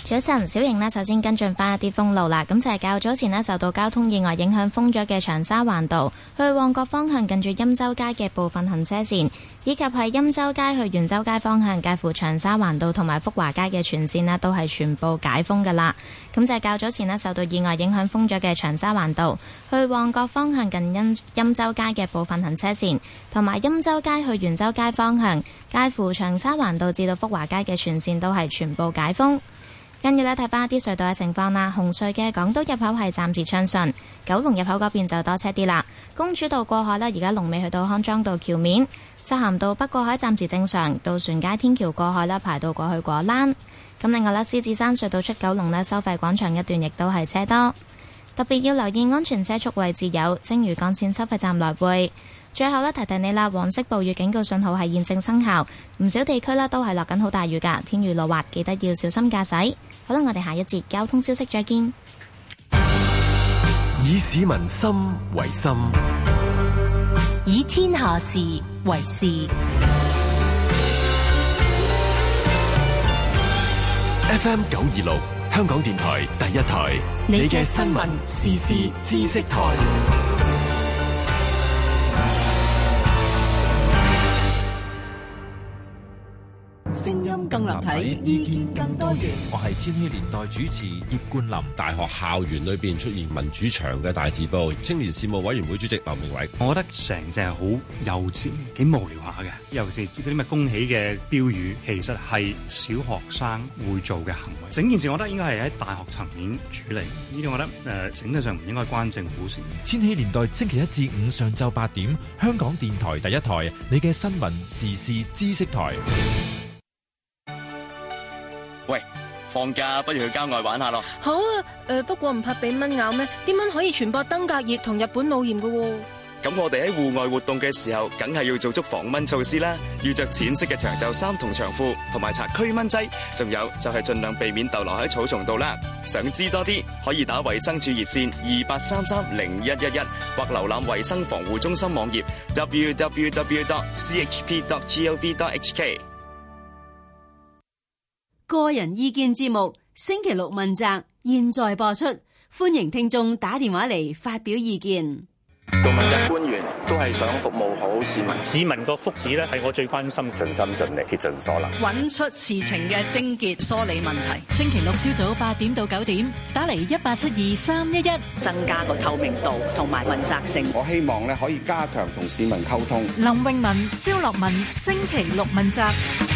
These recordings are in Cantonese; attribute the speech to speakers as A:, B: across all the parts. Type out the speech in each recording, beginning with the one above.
A: 早晨，小瑩呢，首先跟進翻一啲封路啦。咁就係較早前呢，受到交通意外影響封咗嘅長沙灣道去旺角方向近住欽州街嘅部分行車線，以及係欽州街去元州街方向介乎長沙灣道同埋福華街嘅全線呢，都係全部解封噶啦。咁就係較早前呢，受到意外影響封咗嘅長沙灣道去旺角方向近欽州街嘅部分行車線，同埋欽州街去元州街方向介乎長沙灣道至到福華街嘅全線都係全部解封。跟住呢，睇翻一啲隧道嘅情況啦。紅隧嘅港島入口係暫時暢順，九龍入口嗰邊就多車啲啦。公主道過海呢，而家龍尾去到康莊道橋面，漆咸道北過海暫時正常，渡船街天橋過海啦，排到過去果欄。咁另外呢，獅子山隧道出九龍呢，收費廣場一段亦都係車多，特別要留意安全車速位置有青嶼幹線收費站來回。最後呢，提提你啦，黃色暴雨警告信號係現正生效，唔少地區呢都係落緊好大雨㗎，天雨路滑，記得要小心駕駛。好啦，我哋下一節交通消息再見。
B: 以市民心為心，
C: 以天下事為事。
B: FM 926香港電台第一台，你嘅新聞時事知識台。
D: 聲音更立體，意見更多元。
E: 我係千禧年代主持葉冠霖。大學校園裏邊出現民主牆嘅大字報，青年事務委員會主席劉明偉。
F: 我覺得成隻係好幼稚，幾無聊下嘅。尤其是嗰啲咩恭喜嘅標語，其實係小學生會做嘅行為。整件事我覺得應該係喺大學層面處理。呢啲我覺得整體上唔應該關政府事。
G: 千禧年代星期一至五上晝8點，香港電台第一台，你嘅新聞時事知識台。
H: 喂，放假不如去郊外玩下咯。
I: 好啊，不過唔怕俾蚊咬咩？啲蚊可以傳播登革熱同日本腦炎㗎喎。
H: 咁我哋喺戶外活動嘅時候，梗係要做足防蚊措施啦。要着淺色嘅長袖衫同長褲，同埋搽驅蚊劑。仲有就係盡量避免逗留喺草叢度啦。想知多啲，可以打衛生署熱線28330111，或瀏覽衛生防護中心網頁 www.chp.gov.hk。
C: 個人意見節目星期六問責，現在播出，歡迎聽眾打電話嚟發表意見。
J: 做問責官員都係想服務好市民，
K: 市民個福祉咧係我最關心，
J: 盡心盡力竭盡所能，
L: 揾出事情嘅症結，梳理問題。星期六朝早8點到9點，打嚟1872-311，
M: 增加個透明度同埋問責性。
N: 我希望咧可以加強同市民溝通。
L: 林詠雯、蕭樂文，星期六問責。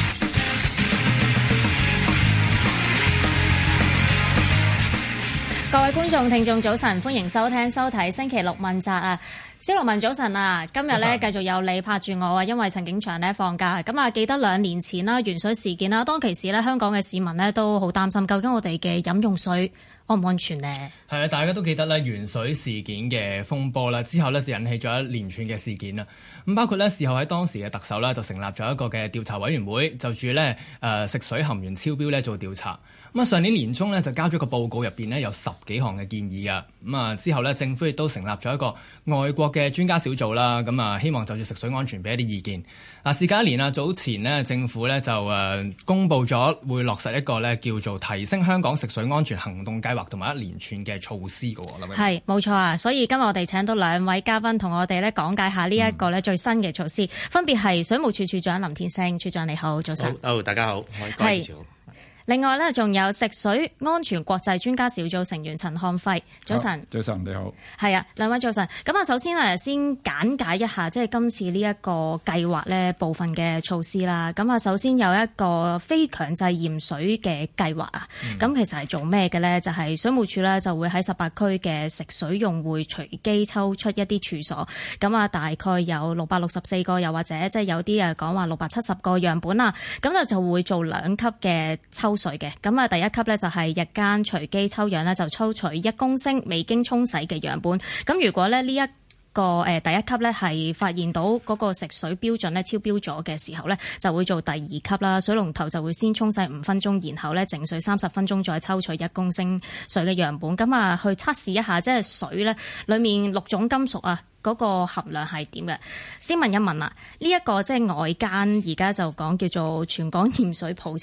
O: 各位觀眾、聽眾，早晨，歡迎收聽、收睇星期六問責啊！蕭樂文早晨啊，今日咧繼續有你拍住我啊，因為陳景祥咧放假。咁啊，記得2年前啦，鉛水事件啦，當其時咧，香港嘅市民咧都好擔心，究竟我哋嘅飲用水安唔安全呢？
P: 係啊，大家都記得咧鉛水事件嘅風波啦，之後咧就引起咗一連串嘅事件啦。咁包括咧事後喺當時嘅特首咧就成立咗一個嘅調查委員會，就住咧食水含鉛超標咧做調查。咁啊，上年年中咧就交咗個報告，入邊咧有10幾項嘅建議㗎。咁啊，之後咧政府亦都成立咗一個外國嘅專家小組啦。咁啊，希望就住食水安全俾一啲意見。嗱，事隔1年啊，早前呢政府咧就公布咗會落實一個咧叫做提升香港食水安全行動計劃，同埋一連串嘅措施㗎喎。
O: 係冇錯啊，所以今日我哋請到2位嘉賓同我哋咧講解下呢一個咧最新嘅措施，分別係水務署署長林天星。署長你好，早晨。
K: 好，大家好，係。
O: 另外咧，仲有食水安全國際專家小組成員陳漢輝，早晨。
Q: 早晨，你好。
O: 係啊，2位早晨。咁啊，首先先簡介一下，即係今次呢一個計劃咧部分嘅措施啦。咁啊，首先有一個非強制驗水嘅計劃啊。咁其實係做咩嘅咧？就係水務署咧就會喺18區嘅食水用戶隨機抽出一啲處所。咁啊，大概有664個，又或者即係有啲講話670個樣本啦。咁就會做2級嘅抽水嘅。咁啊，第一級咧就係日間隨機抽樣咧，就抽取1公升未經沖洗嘅樣本。咁如果咧呢一個第一級咧係發現到嗰個食水標準咧超標咗嘅時候咧，就會做第2級啦。水龍頭就會先沖洗5分鐘，然後咧靜水30分鐘，再抽取1公升水嘅樣本。咁啊，去測試一下即係水咧裡面6種金屬啊嗰個含量係點嘅。先問一問啦，呢一個即係外間而家就講叫做全港驗水普查。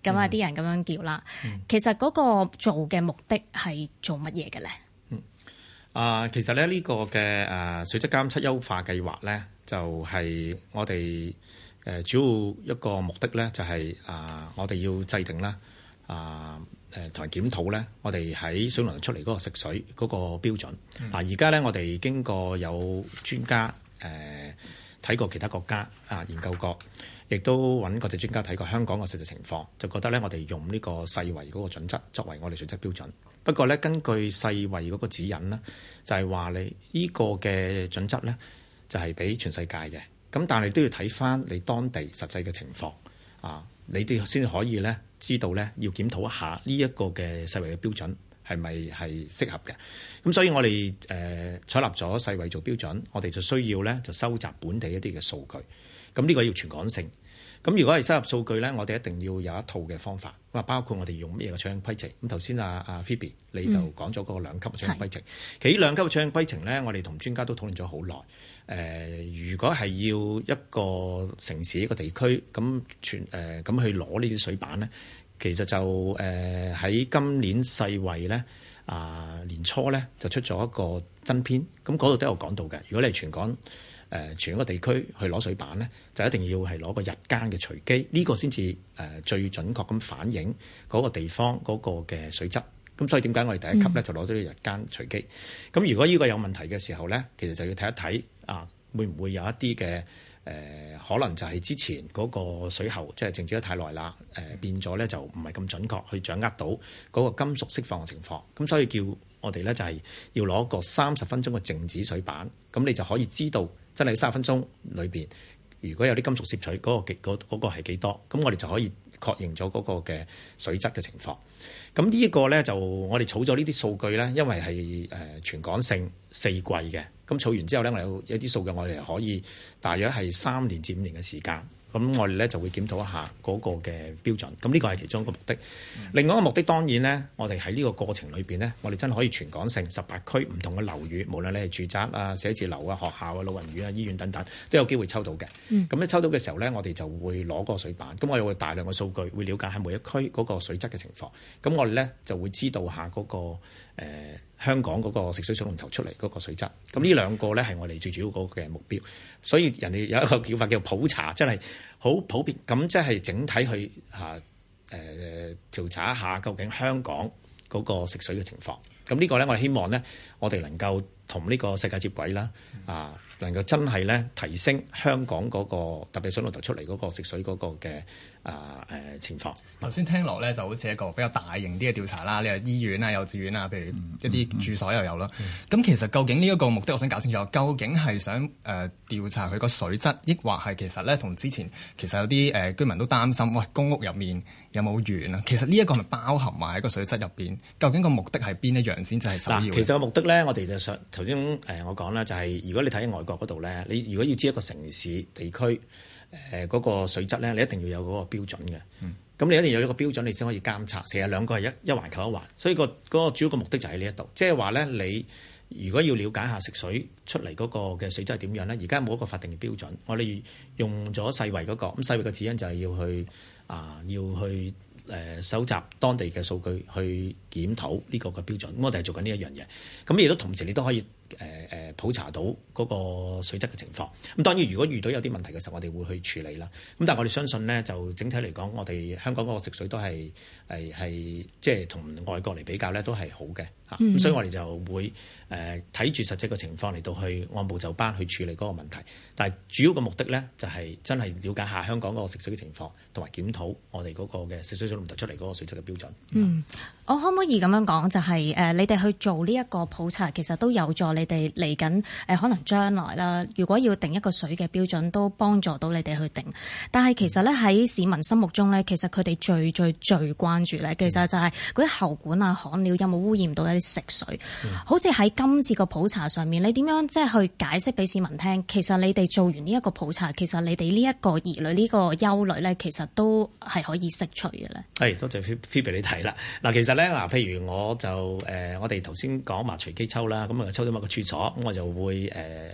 O: 咁啊啲人咁樣叫啦。其實嗰個做嘅目的係做乜嘢嘅咧？
Q: 其實咧呢個嘅水質監測優化計劃咧，就係我哋主要一個目的咧，就係我哋要制定啦同埋檢討咧，我哋喺水龍頭出嚟嗰個食水嗰個標準。而家咧我哋經過有專家睇過其他國家研究過，亦都揾國際專家睇過香港嘅實際情況，就覺得咧我哋用呢個世衛嗰個準則作為我哋水質標準。不過咧，根據世衛嗰個指引咧，就係話你呢個嘅準則咧，就係俾全世界嘅。咁但係都要睇翻你當地實際嘅情況你哋先可以咧知道咧要檢討一下呢一個嘅世衛嘅標準係咪係適合嘅。咁所以我哋採納咗世衛做標準，我哋就需要咧就收集本地一啲嘅數據。咁呢個要全港性。咁如果係收集數據咧，我哋一定要有一套嘅方法。咁包括我哋用咩嘅採樣規程。咁頭先阿 Phoebe 你就講咗嗰個2級嘅採樣規程。其實呢2級嘅採樣規程咧，我哋同專家都討論咗好耐。如果係要一個城市一個地區咁咁去攞呢啲水板咧，其實就喺今年世衛咧年初咧就出咗一個增編。咁嗰度都有講到嘅。如果你係全港全一個地區去攞水板咧，就一定要係攞個日間嘅隨機，呢個先至最準確咁反映嗰個地方嗰個嘅水質。咁所以點解我哋第一級咧就攞咗啲日間隨機？咁如果呢個有問題嘅時候咧，其實就要睇一睇會唔會有一啲嘅可能就係之前嗰個水喉即係靜止得太耐啦，變咗咧就唔係咁準確去掌握到嗰個金屬釋放嘅情況。咁所以叫我哋咧就係要攞個30分鐘嘅靜止水板，咁你就可以知道真係30分鐘裏邊如果有啲金屬攝取嗰個係幾多，咁我哋就可以確認咗嗰個嘅水質嘅情況。咁呢一個咧就我哋儲咗呢啲數據咧，因為係全港性4季嘅，咁儲完之後咧，我有一啲數據我哋可以大約係3年至5年嘅時間。咁我哋咧就會檢討一下嗰個嘅標準。咁呢個係其中一個目的。另外一個目的當然咧，我哋喺呢個過程裏邊咧，我哋真係可以全港性18區唔同嘅樓宇，無論你係住宅啊、寫字樓啊、學校啊、老人院啊、醫院等等，都有機會抽到嘅。咁咧抽到嘅時候咧，我哋就會攞嗰個水板。咁我哋會大量嘅數據，會了解喺每一區嗰個水質嘅情況。咁我哋咧就會知道下嗰個香港嗰個食水水龍頭出嚟嗰個水質。咁呢兩個咧係我哋最主要嗰個嘅目標。所以人哋有一個叫法叫普查，真係好普遍。咁即係整體去調查一下究竟香港嗰個食水嘅情況。咁呢個咧，我哋希望咧，我哋能夠同呢個世界接軌啦，能夠真係咧提升香港嗰個特別水龍頭出嚟嗰個食水嗰個嘅情況。
P: 頭先聽落咧就好似一個比較大型啲嘅調查啦，你話醫院啊、幼稚園啊，譬如一啲住所又有啦。咁其實究竟呢一個目的，我想搞清楚，究竟係想調查佢個水質，抑或係其實咧同之前其實有啲居民都擔心，喂，公屋入面有冇鉛啊？其實呢一個係咪包含埋喺個水質入邊？究竟個目的係邊一樣先至係首要？
Q: 其實個目的咧，我哋就想頭先我講啦，就係如果你睇外國嗰度咧，你如果要知一個城市地區嗰個水質咧，你一定要有嗰個標準嘅。咁你一定要有一個標準，你先可以監察。成日兩個係一環扣一環，所以嗰個主要個目的就喺呢一度。即係話咧，你如果要了解下食水出嚟嗰個嘅水質係點樣咧，而家冇一個法定嘅標準。我哋用咗世衛嗰個，咁世衛嘅指引就係要去收集當地嘅數據去檢討呢個嘅標準。咁我哋係做緊呢一樣嘢。咁亦都同時你都可以普查到嗰個水質嘅情況。咁當然如果遇到有啲問題嘅時候，我哋會去處理啦。咁但係我哋相信呢，就整體嚟講，我哋香港嗰個食水都係即係同外國嚟比較呢，都係好嘅。咁所以我哋就會睇住實際嘅情況嚟到去按部就班去處理嗰個問題。但係主要嘅目的呢，就係真係了解下香港嗰個食水嘅情況，同埋檢討我哋嗰個嘅食水水龍頭出嚟嗰個水質嘅標準。
O: 我可唔可以咁樣講，就係你哋去做呢一個普查，其實都有助你哋嚟緊可能將來啦，如果要定一個水嘅標準，都幫助到你哋去定。但係其實咧喺市民心目中咧，其實佢哋最關注咧，其實就係嗰啲喉管啊、焊料有冇污染到一啲食水。好似喺今次個普查上面，你點樣即係去解釋俾市民聽？其實你哋做完呢一個普查，其實你哋呢一個疑慮、呢個憂慮咧，其實都係可以釋除嘅咧。係，
Q: 多謝 Phoebe 你提啦。嗱，其實咧譬如我就我哋頭先講話隨機抽啦，咁啊抽到某個處所，咁我就會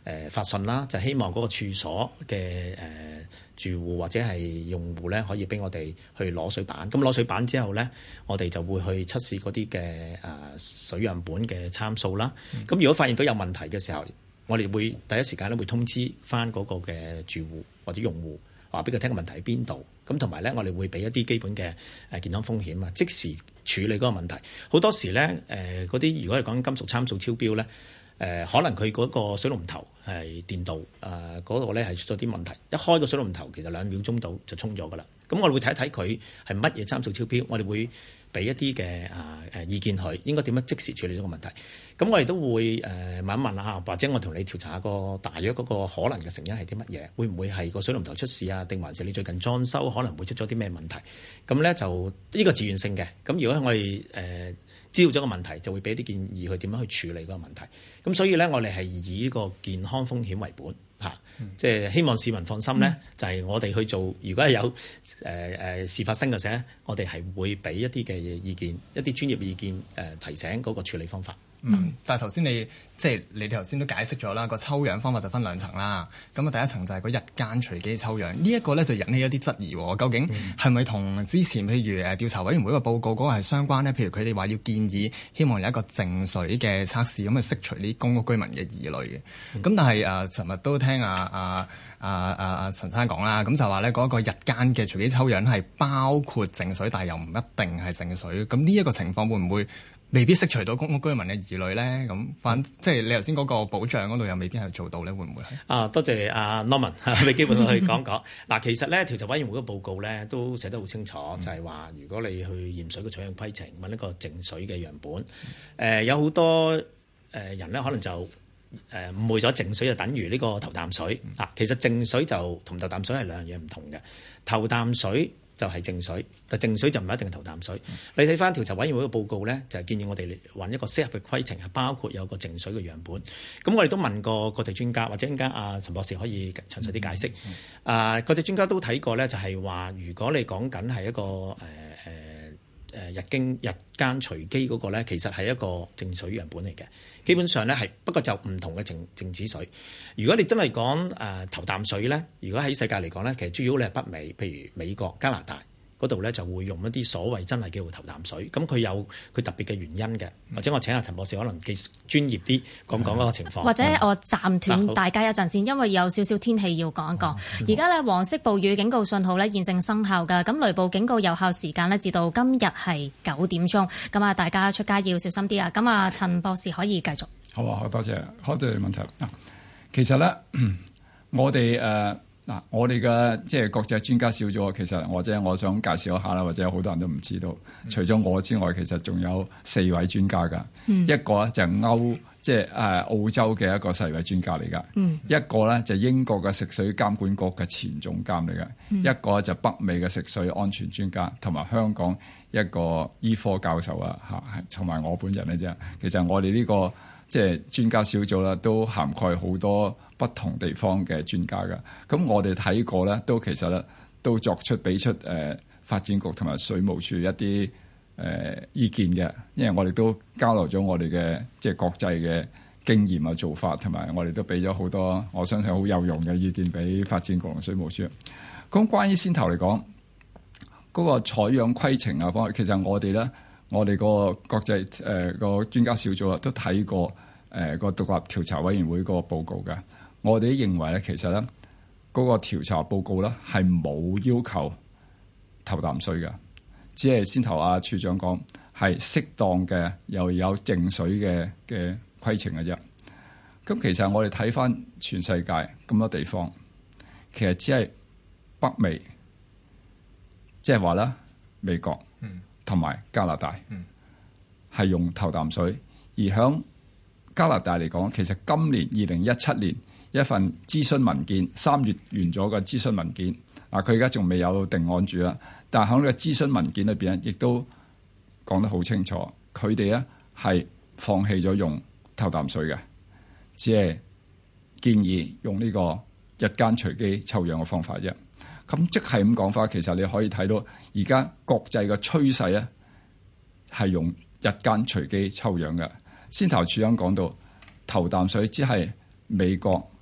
Q: 發信啦，就希望嗰個處所嘅住戶或者係用戶咧，可以俾我哋去攞水板。咁攞水板之後咧，我哋就會去測試嗰啲嘅水樣本嘅參數啦。咁如果發現到有問題嘅時候，我哋會第一時間咧會通知翻嗰個嘅住戶或者用戶，話俾佢聽個問題喺邊度。咁同埋咧，我哋會俾一啲基本嘅健康風險啊，即時處理嗰個問題。好多時咧，嗰啲如果係講金屬參數超標咧，可能佢嗰個水龍頭係電導嗰度咧係出咗啲問題，一開個水龍頭其實2秒鐘到就沖咗噶啦。咁我哋會睇一睇佢係乜嘢參數超標，我哋會俾一啲嘅意見佢應該點樣即時處理呢個問題。咁我哋都會問一問下，或者我同你調查個大約嗰個可能嘅成因係啲乜嘢？會唔會係個水龍頭出事啊？定還是你最近裝修可能會出咗啲咩問題？咁咧就呢個自願性嘅。咁如果我哋知道咗個問題，就會俾一啲建議佢點樣去處理嗰個問題。咁所以咧，我哋係以呢個健康風險為本嚇，即係希望市民放心咧。就係我哋去做，如果係有事發生嘅時候，我哋係會俾一啲嘅意見，一啲專業嘅意見提醒嗰個處理方法。
P: 但係頭先你哋頭先都解釋咗啦，個抽樣方法就分2層啦。咁啊，第一層就係個日間隨機抽樣，呢一個咧就引起一啲質疑喎。究竟係咪同之前譬如調查委員會個報告嗰個係相關呢？譬如佢哋話要建議，希望有一個淨水嘅測試，咁去釋除啲公屋居民嘅疑慮嘅。咁但係尋日都聽陳生講啦，咁就話咧嗰個日間嘅隨機抽樣係包括淨水，但係又唔一定係淨水。咁呢一個情況會唔會未必釋除到公屋居民嘅疑慮咧？咁即係你頭先嗰個保障嗰度又未必係做到咧，會唔會係？多謝阿 Norman 俾機會去講講。嗱，其實咧調查委員會嘅報告咧都寫得好清楚，就係話如果你去驗水嘅採樣規程揾一個淨水嘅樣本，有好多人咧可能就誤會咗淨水就等於呢個頭啖水啊。其實淨水就同頭啖水係兩樣嘢唔同嘅。頭啖水就係淨水，但淨水就唔一定係頭啖水。你睇翻調查委員會嘅報告咧，就係建議我哋揾一個適合嘅規程，係包括有個淨水嘅樣本。咁我哋都問過國際專家，或者陣間阿陳博士可以詳細啲解釋。國際專家都睇過咧，就係話如果你講緊係一個日間隨機嗰個咧，其實係一個淨水樣本嚟嘅。基本上咧係不過就唔同嘅靜止水。如果你真係講頭啖水咧，如果喺世界嚟講咧，其實主要你係北美，譬如美國、加拿大嗰度咧就會用一啲所謂真係叫做頭啖水。咁佢有佢特別嘅原因嘅，或者我請阿陳博士可能專業啲講嗰個情況。
O: 或者我暫斷大家一陣先，因為有少少天氣要講一講。而家咧黃色暴雨警告信號咧現正生效㗎，咁雷暴警告有效時間咧至到今日係9點鐘。咁啊，大家出街要小心啲啊！咁啊，陳博士可以繼續。
R: 好啊，好多謝，好多問題。其實咧，我哋我哋嘅即係國際專家小組，其實我想介紹一下啦，或者好多人都唔知道。除咗我之外，其實仲有4位專家㗎。一個咧就係澳洲嘅一個世衛專家嚟㗎。一個咧就英國嘅食水監管局嘅前總監嚟㗎。一個就北美嘅食水安全專家，同埋香港一個醫科教授啊，同埋我本人嘅啫。其實我哋呢個即係專家小組啦，都涵蓋好多不同地方嘅專家㗎。咁我哋睇過咧，都其實咧都俾出發展局同埋水務署一啲意見嘅，因為我哋都交流咗我哋嘅即係國際嘅經驗啊做法，同埋我哋都俾咗好多我相信好有用嘅意見俾發展局同水務署。咁關於先頭嚟講嗰個採樣規程啊方面，其實我哋個國際個專家小組啊都睇過個獨立調查委員會個報告嘅。我哋都認為咧，其實咧嗰個調查報告咧係冇要求頭啖水嘅，只係先頭阿處長講係適當嘅又有淨水嘅規程嘅啫。咁其實我哋睇翻全世界咁多地方，其實只係北美，即係話咧美國同埋加拿大係用頭啖水，而響加拿大嚟講，其實今年2017年一份諮詢文件3月完咗個諮詢文件，佢而家仲未有定案住啦。但係喺呢個諮詢文件裏邊咧，亦都講得好清楚，佢哋咧係放棄咗用頭啖水嘅，只係建議用呢個日間隨機抽樣嘅方法啫。咁即係咁講法，其實你可以睇到而家國際嘅趨勢咧係用日間隨機抽樣嘅。先頭處長講到頭啖水只係美國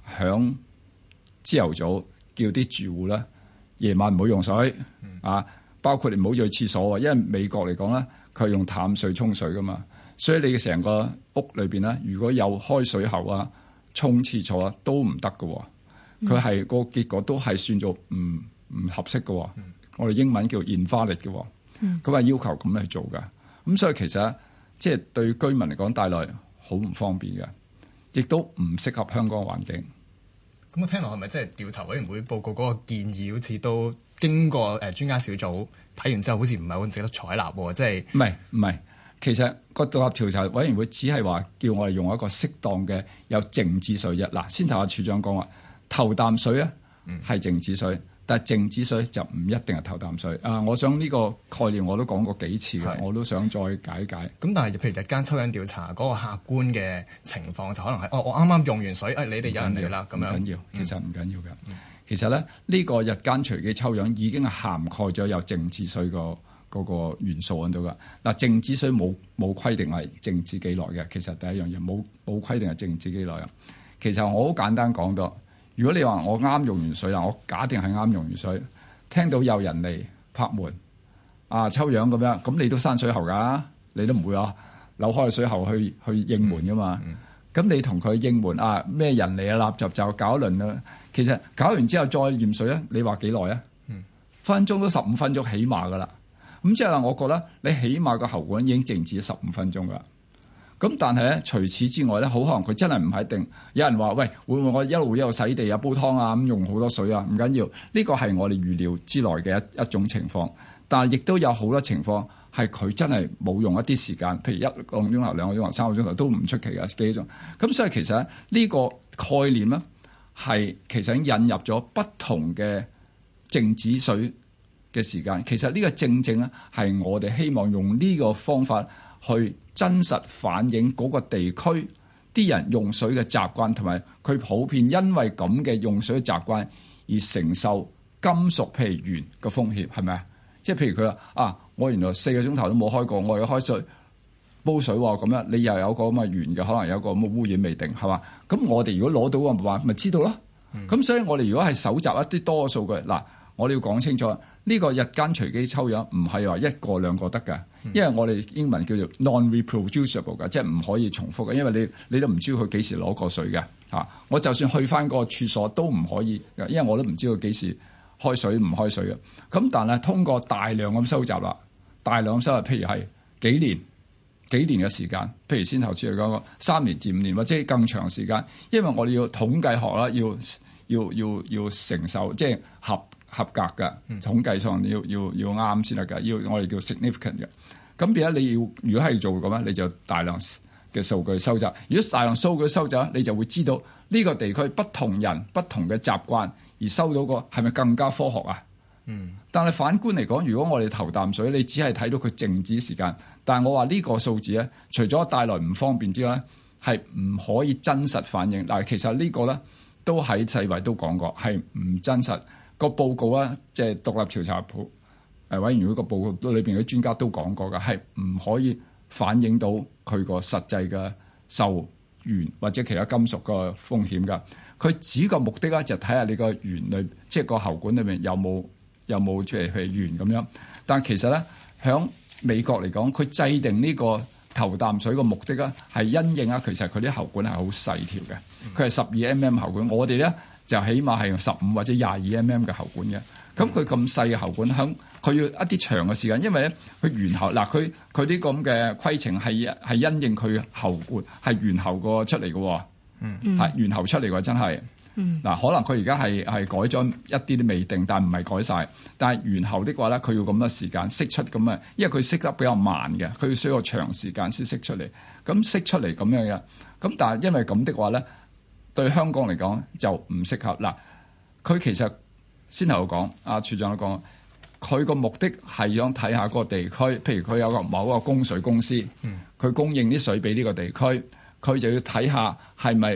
R: 響朝頭早叫啲住戶咧，夜晚唔好用水啊，包括你唔好去廁所，因為美國嚟講咧，佢係用淡水沖水噶嘛，所以你嘅成個屋裏邊咧，如果有開水喉啊、沖廁所啊，都唔得噶。佢係個結果都係算做唔合適嘅。我哋英文叫 invalid 嘅。佢話要求咁去做㗎。咁所以其實即係對居民嚟講帶來好唔方便嘅，亦都唔適合香港環境。
P: 咁我聽落係咪即係調查委員會報告嗰個建議，好似都經過專家小組睇完之後，好似唔係好值得採納喎？即係
R: 唔係？其實個獨立調查委員會只係話叫我哋用一個適當嘅有靜止水啫。嗱，先頭阿處長講話頭啖水咧係靜止水，但係靜止水就唔一定係頭啖水。我想呢個概念我都講過幾次嘅，我都想再解解。咁
P: 但係譬如日間抽樣調查嗰個客觀嘅情況，就可能係我啱啱用完水，你哋有人嚟啦咁樣。唔緊要，其實唔緊要嘅。其實咧呢個日間隨機抽樣已經係涵蓋咗有靜止水嗰個元素喺度㗎。嗱，靜止水冇規定係靜止幾耐嘅。其實第一樣嘢冇規定係靜止幾耐啊。其實我好簡單講到，如果你話我啱用完水啦，我假定係啱用完水，聽到有人嚟拍門抽樣咁樣，咁你都閂水喉㗎，你都唔會話扭開水喉去應門㗎嘛。咁你同佢應門咩人嚟啊？立就搞一輪啦。其實搞完之後再驗水咧，你話幾耐啊？分鐘都15分鐘起碼㗎啦。咁即係我覺得你起碼個喉管已經靜止15分鐘㗎啦。咁但係咧，除此之外咧，好可能佢真係唔係一定。有人話：喂，會唔會我一路洗地啊、煲湯啊咁用好多水啊？唔緊要，呢個係我哋預料之內嘅一種情況。但係亦都有好多情況係佢真係冇用一啲時間，譬如1個鐘頭、2個鐘頭、3個鐘頭都唔出奇嘅幾種。咁所以其實呢個概念咧係其實已經引入咗不同嘅靜止水嘅時間。其實呢個正正咧係我哋希望用呢個方法去真實反映嗰個地區啲人用水嘅習慣，同埋佢普遍因為咁嘅用水嘅習慣而承受金屬譬如鉛嘅風險，係咪啊？即係譬如佢話我原來4個鐘頭都冇開過，我要開水煲水喎，咁樣你又有個咁嘅鉛嘅，可能有個咁嘅污染未定，係嘛？咁我哋如果攞到個話，咪知道咯。咁所以我哋如果係搜集一啲多嘅數據，嗱，我哋要講清楚，呢個日間隨機抽樣唔係話1個2個得㗎。因為我哋英文叫做 non-reproducible 嘅，即係唔可以重複嘅。因為你都唔知佢幾時攞過水嘅我就算去翻個處所都唔可以，因為我都唔知佢幾時開水唔開水嘅。咁但係通過大量咁收集啦，大量收集，譬如係幾年嘅時間，譬如先頭先嚟講個3年至5年或者更長時間，因為我哋要統計學啦，要承受即係合格嘅統計上要啱先得㗎，要我哋叫 significant 嘅。咁變咗你要如果係做咁咧，你就大量嘅數據收集。如果大量數據收集，你就會知道呢個地區不同人不同嘅習慣而收到個係咪更加科學啊？但係反觀嚟講，如果我哋頭啖水，你只係睇到佢靜止時間，但係我話呢個數字咧，除咗帶來唔方便之外，係唔可以真實反映。嗱，其實呢個咧都喺世衛都講過，係唔真實。個報告啊，即係獨立調查委員會個報告裏邊嘅專家都講過嘅，係唔可以反映到佢個實際嘅受鉛或者其他金屬個風險㗎。佢只個目的咧就睇下你個鉛裏，即係個喉管裏面有冇即係鉛咁樣。但係其實咧，響美國嚟講，佢制定呢個頭啖水個目的咧係因應其實佢啲喉管係好細條嘅，佢係12 mm 喉管，我哋咧就起碼係用15或者22 mm 嘅喉管嘅。咁佢咁細嘅喉管，佢要一啲長嘅時間，因為咧佢圓喉嗱，佢啲咁嘅規程係因應佢喉管係圓喉個出嚟嘅，係圓喉出嚟嘅真係。嗱，可能佢而家係改咗一啲都未定，但唔係改晒。但係圓喉的話咧，佢要咁多時間釋出咁啊，因為佢釋得比較慢嘅，佢要需要長時間先釋出嚟。咁釋出嚟咁樣嘅，咁但係因為咁的話咧，對香港嚟講就唔適合。嗱，佢其實先頭講，阿處長都講，佢個目的係想睇下個地區，譬如佢有個某個供水公司，佢供應啲水俾呢個地區，佢就要睇下係咪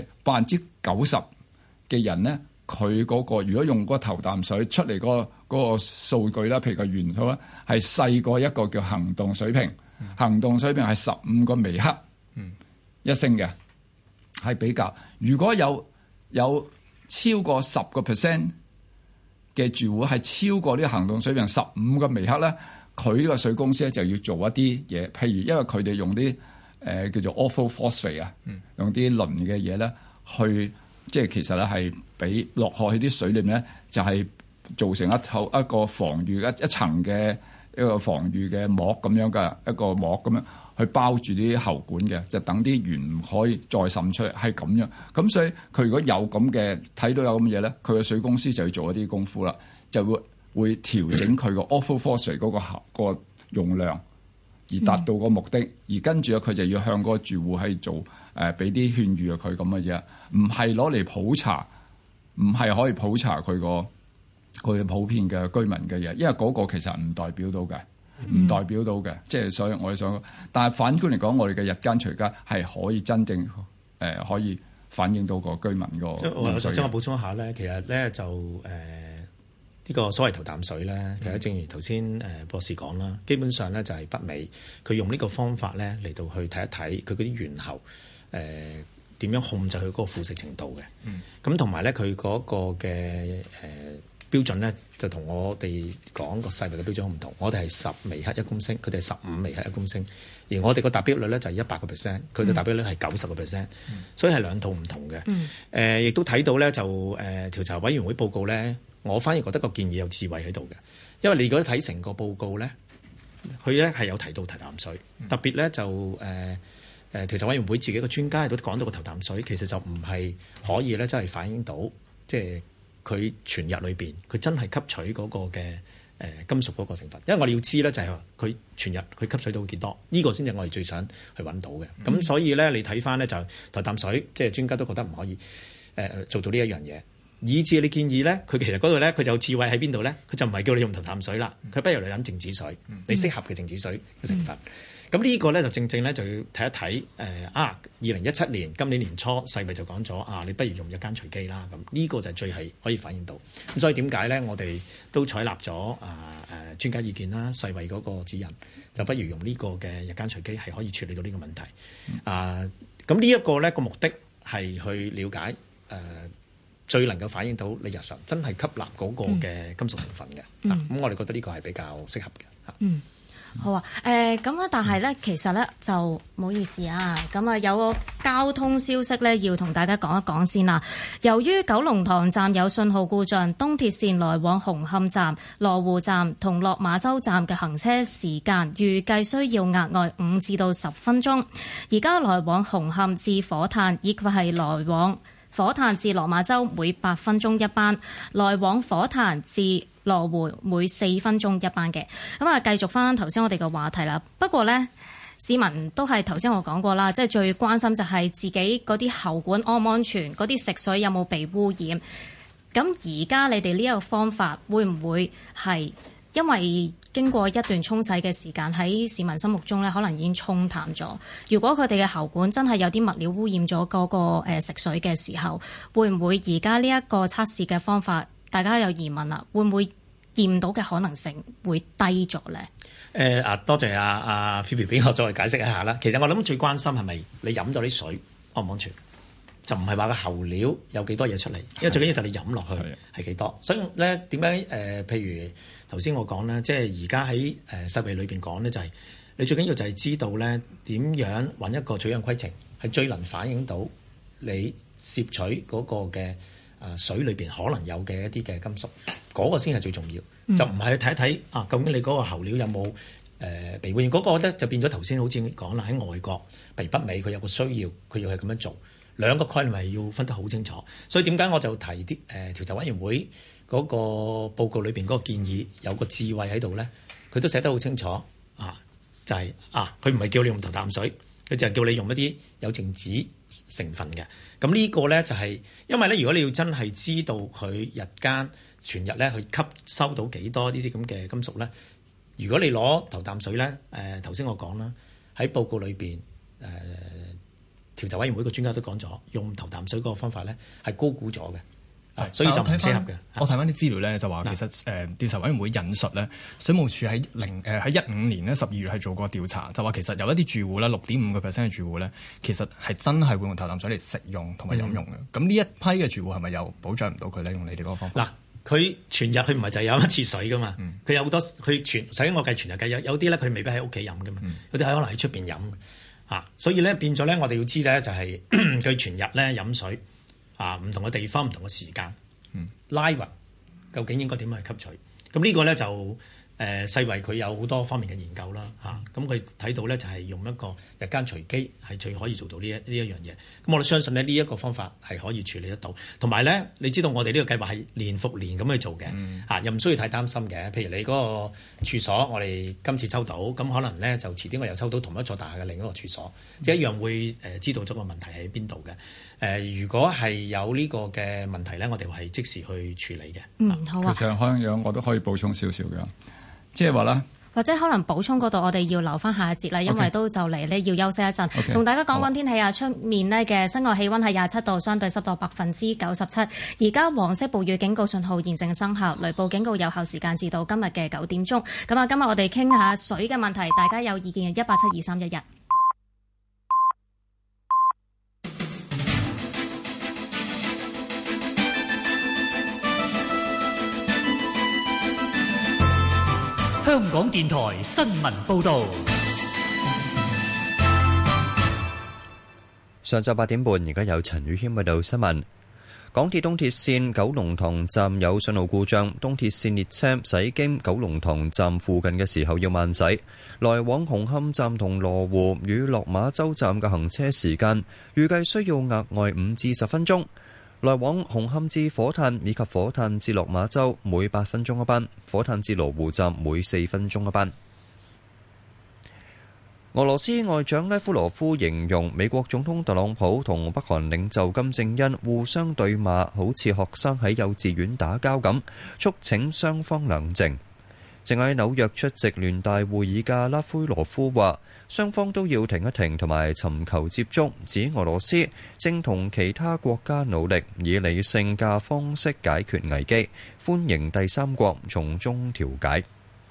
P: 90%嘅人咧，佢嗰個如果用嗰頭啖水出嚟嗰個數據啦，譬如個元素咧，係細過一個叫行動水平，行動水平係15個微克一升嘅，係比較。如果有
R: 超過10% 嘅住戶係超過呢個行動水平15個微克咧，佢呢個水公司咧就要做一啲嘢，譬如因為佢哋用啲叫做 orthophosphate 啊，用啲磷嘅嘢咧去，即係其實咧係俾落去啲水裏面咧，就係造成一個防禦一層嘅一個防禦嘅膜咁樣嘅一個膜咁樣去包住啲喉管嘅，就等啲鉛唔可以再滲出嚟，係咁樣。咁所以佢如果有咁嘅睇到有咁嘅嘢咧，佢嘅水公司就要做一啲功夫啦，就會調整佢個 orthophosphate 嗰個用量，而達到個目的。而跟住佢就要向嗰個住戶係做俾啲勸喻佢咁嘅啫，唔係攞嚟普查，唔係可以普查佢嘅普遍嘅居民嘅嘢，因為嗰個其實唔代表到嘅。唔代表到嘅，即係所以我哋想，但係反觀嚟講，我哋嘅日間隨家係可以真正可以反映到個居民個。
Q: 我想補充一下咧，其實咧就呢個所謂頭啖水咧，其實正如頭先博士講啦，基本上咧就係北美佢用呢個方法咧嚟到去睇一睇佢嗰啲猿猴點樣控制佢嗰個腐蝕程度嘅。咁同埋咧佢嗰個嘅標準咧就同我哋講個世衛嘅標準好唔同，我哋係10微克1公升，佢哋係15微克1公升，而我哋個達標率咧就係100%，佢哋達標率係90%，所以係兩套唔同嘅。亦都睇到咧就調查委員會報告咧，我反而覺得個建議有智慧喺度嘅，因為你如果睇成個報告咧，佢咧係有提到頭啖水，特別咧就調查委員會自己個專家亦都講到個頭啖水其實就唔係可以咧真係反映到即係。佢全日裏邊，佢真係吸取嗰個嘅金屬嗰個成分，因為我哋要知咧就係話佢全日佢吸取到幾多，呢個先至我哋最想去揾到嘅。咁所以咧，你睇翻咧就頭啖水，即係專家都覺得唔可以做到呢一樣嘢，以至你建議咧，佢其實嗰度咧佢就有智慧喺邊度咧？佢就唔係叫你用頭啖水啦，佢不如你飲靜止水，你適合嘅靜止水嘅成分。咁呢個咧就正正咧就要睇一睇2017年今年年初世衛就講咗你不如用日間隨機啦。咁呢個就最係可以反映到。咁所以點解咧我哋都採納咗專家意見啦，世衛嗰個指引，就不如用呢個嘅日間隨機係可以處理到呢個問題。咁呢一個咧個目的係去了解最能夠反映到你日常真係吸納嗰個嘅金屬成分嘅。咁我哋覺得呢個係比較適合嘅。
O: 好啊，咁咧，但係咧，其實咧就唔好意思啊，咁啊有個交通消息咧要同大家講一講先啦。由於九龍塘站有信號故障，東鐵線來往紅磡站、羅湖站同落馬洲站嘅行車時間預計需要額外5至到10分鐘。而家來往紅磡至火炭以及係來往火炭至落馬洲每8分鐘一班，來往火炭至羅湖每4分鐘一班嘅。咁啊，繼續翻頭先我哋嘅話題啦。不過呢，市民都係頭先我講過啦，即係最關心就係自己嗰啲喉管安唔安全，嗰啲食水有冇被污染。咁而家你哋呢一個方法會唔會係因為經過一段沖洗嘅時間喺市民心目中呢，可能已經沖淡咗？如果佢哋嘅喉管真係有啲物料污染咗嗰個食水嘅時候，會唔會而家呢一個測試嘅方法？大家有疑問啦，會唔會驗到嘅可能性會低咗咧？
Q: 多謝阿 Phoebe 俾我再解釋一下啦。其實我諗最關心係咪你飲咗啲水安唔安全，就唔係話個喉料有幾多嘢出嚟，因為最緊要就係你飲落去係幾多。所以咧點解譬如頭先我講咧，即係而家喺世衛裏邊講咧，就係你最緊要就係知道咧點樣揾一個取樣規程係最能反映到你攝取嗰個嘅水裏邊可能有嘅一啲嘅金屬，嗰個先係最重要。就唔係去睇一睇究竟你嗰個喉料有冇被污染。嗰個咧就變咗頭先好似講啦，喺外國譬如北美佢有個需要，佢要係咁樣做，兩個概念係要分得好清楚。所以點解我就提啲調查委員會嗰個報告裏邊嗰個建議有個智慧喺度咧，佢都寫得好清楚就係佢唔係叫你用頭啖水，佢就係叫你用一啲有靜止成分嘅。咁呢個咧就係因為咧，如果你要真係知道佢日間全日咧去吸收到幾多呢啲咁嘅金屬咧，如果你攞頭啖水咧，頭先我講啦，喺報告裏邊調查委員會個專家都講咗，用頭啖水嗰個方法咧係高估咗嘅。 所以就唔適合嘅。
P: 我睇翻啲資料咧，就話其實調查委員會引述咧，水務署喺15年咧12月係做過調查，就話其實有一啲住戶咧6.5%嘅住戶咧，其實係真係會用頭啖水嚟食用同埋飲用嘅。咁呢一批嘅住戶係咪又保障唔到佢咧？用你哋嗰個方法？
Q: 嗱，佢全日佢唔係就係飲一次水噶嘛，佢有好多佢首先我計全日計有啲咧佢未必喺屋企飲噶嘛，有啲係可能喺出邊飲所以咧變咗咧我哋要知咧就係佢全日咧飲水唔同嘅地方唔同嘅時間。拉勻究竟應該點樣去吸取？咁呢個咧就世衛佢有好多方面嘅研究啦咁佢睇到咧就係用一個日間隨機係最可以做到呢一樣嘢。咁我哋相信咧呢一個方法係可以處理得到。同埋咧，你知道我哋呢個計劃係年復年咁去做嘅又唔需要太擔心嘅。譬如你嗰個處所，我哋今次抽到，咁可能咧就遲啲我又抽到同一座大廈嘅另一個處所，即係一樣會知道咗個問題喺邊度嘅。如果係有呢個嘅問題咧，我哋係即時去處理嘅。
O: 好啊。
R: 其實可能我都可以補充少少嘅，即係話啦。
O: 或者可能補充嗰度，我哋要留翻下一節啦，因為都就嚟咧要休息一陣。同大家講講天氣啊，出面呢嘅室外氣溫係27度，相對濕度97%。而家黃色暴雨警告信號現正生效，雷暴警告有效時間至到今日嘅9點鐘。咁啊，今日我哋傾下水嘅問題，大家有意見嘅1872311。
S: 香港電台新聞報導。
T: 上晝8點半，而家有陳宇軒報道新聞。港鐵東鐵線九龍塘站有信號故障，東鐵線列車駛經九龍塘站附近嘅時候要慢駛。來往紅磡站同羅湖與落馬洲站嘅行車時間預計需要額外5至10分鐘。來往紅磡至火炭以及火炭至落馬洲每8分鐘一班，火炭至羅湖站每4分鐘一班。俄羅斯外長拉夫羅夫形容美國總統特朗普同北韓領袖金正恩互相對罵，好似學生喺幼稚園打交咁，促請雙方冷靜。正喺紐約出席聯大會議嘅拉夫羅夫話，雙方都要停一停同埋尋求接觸，指俄羅斯正同其他國家努力以理性嘅方式解決危機，歡迎第三國從中調解。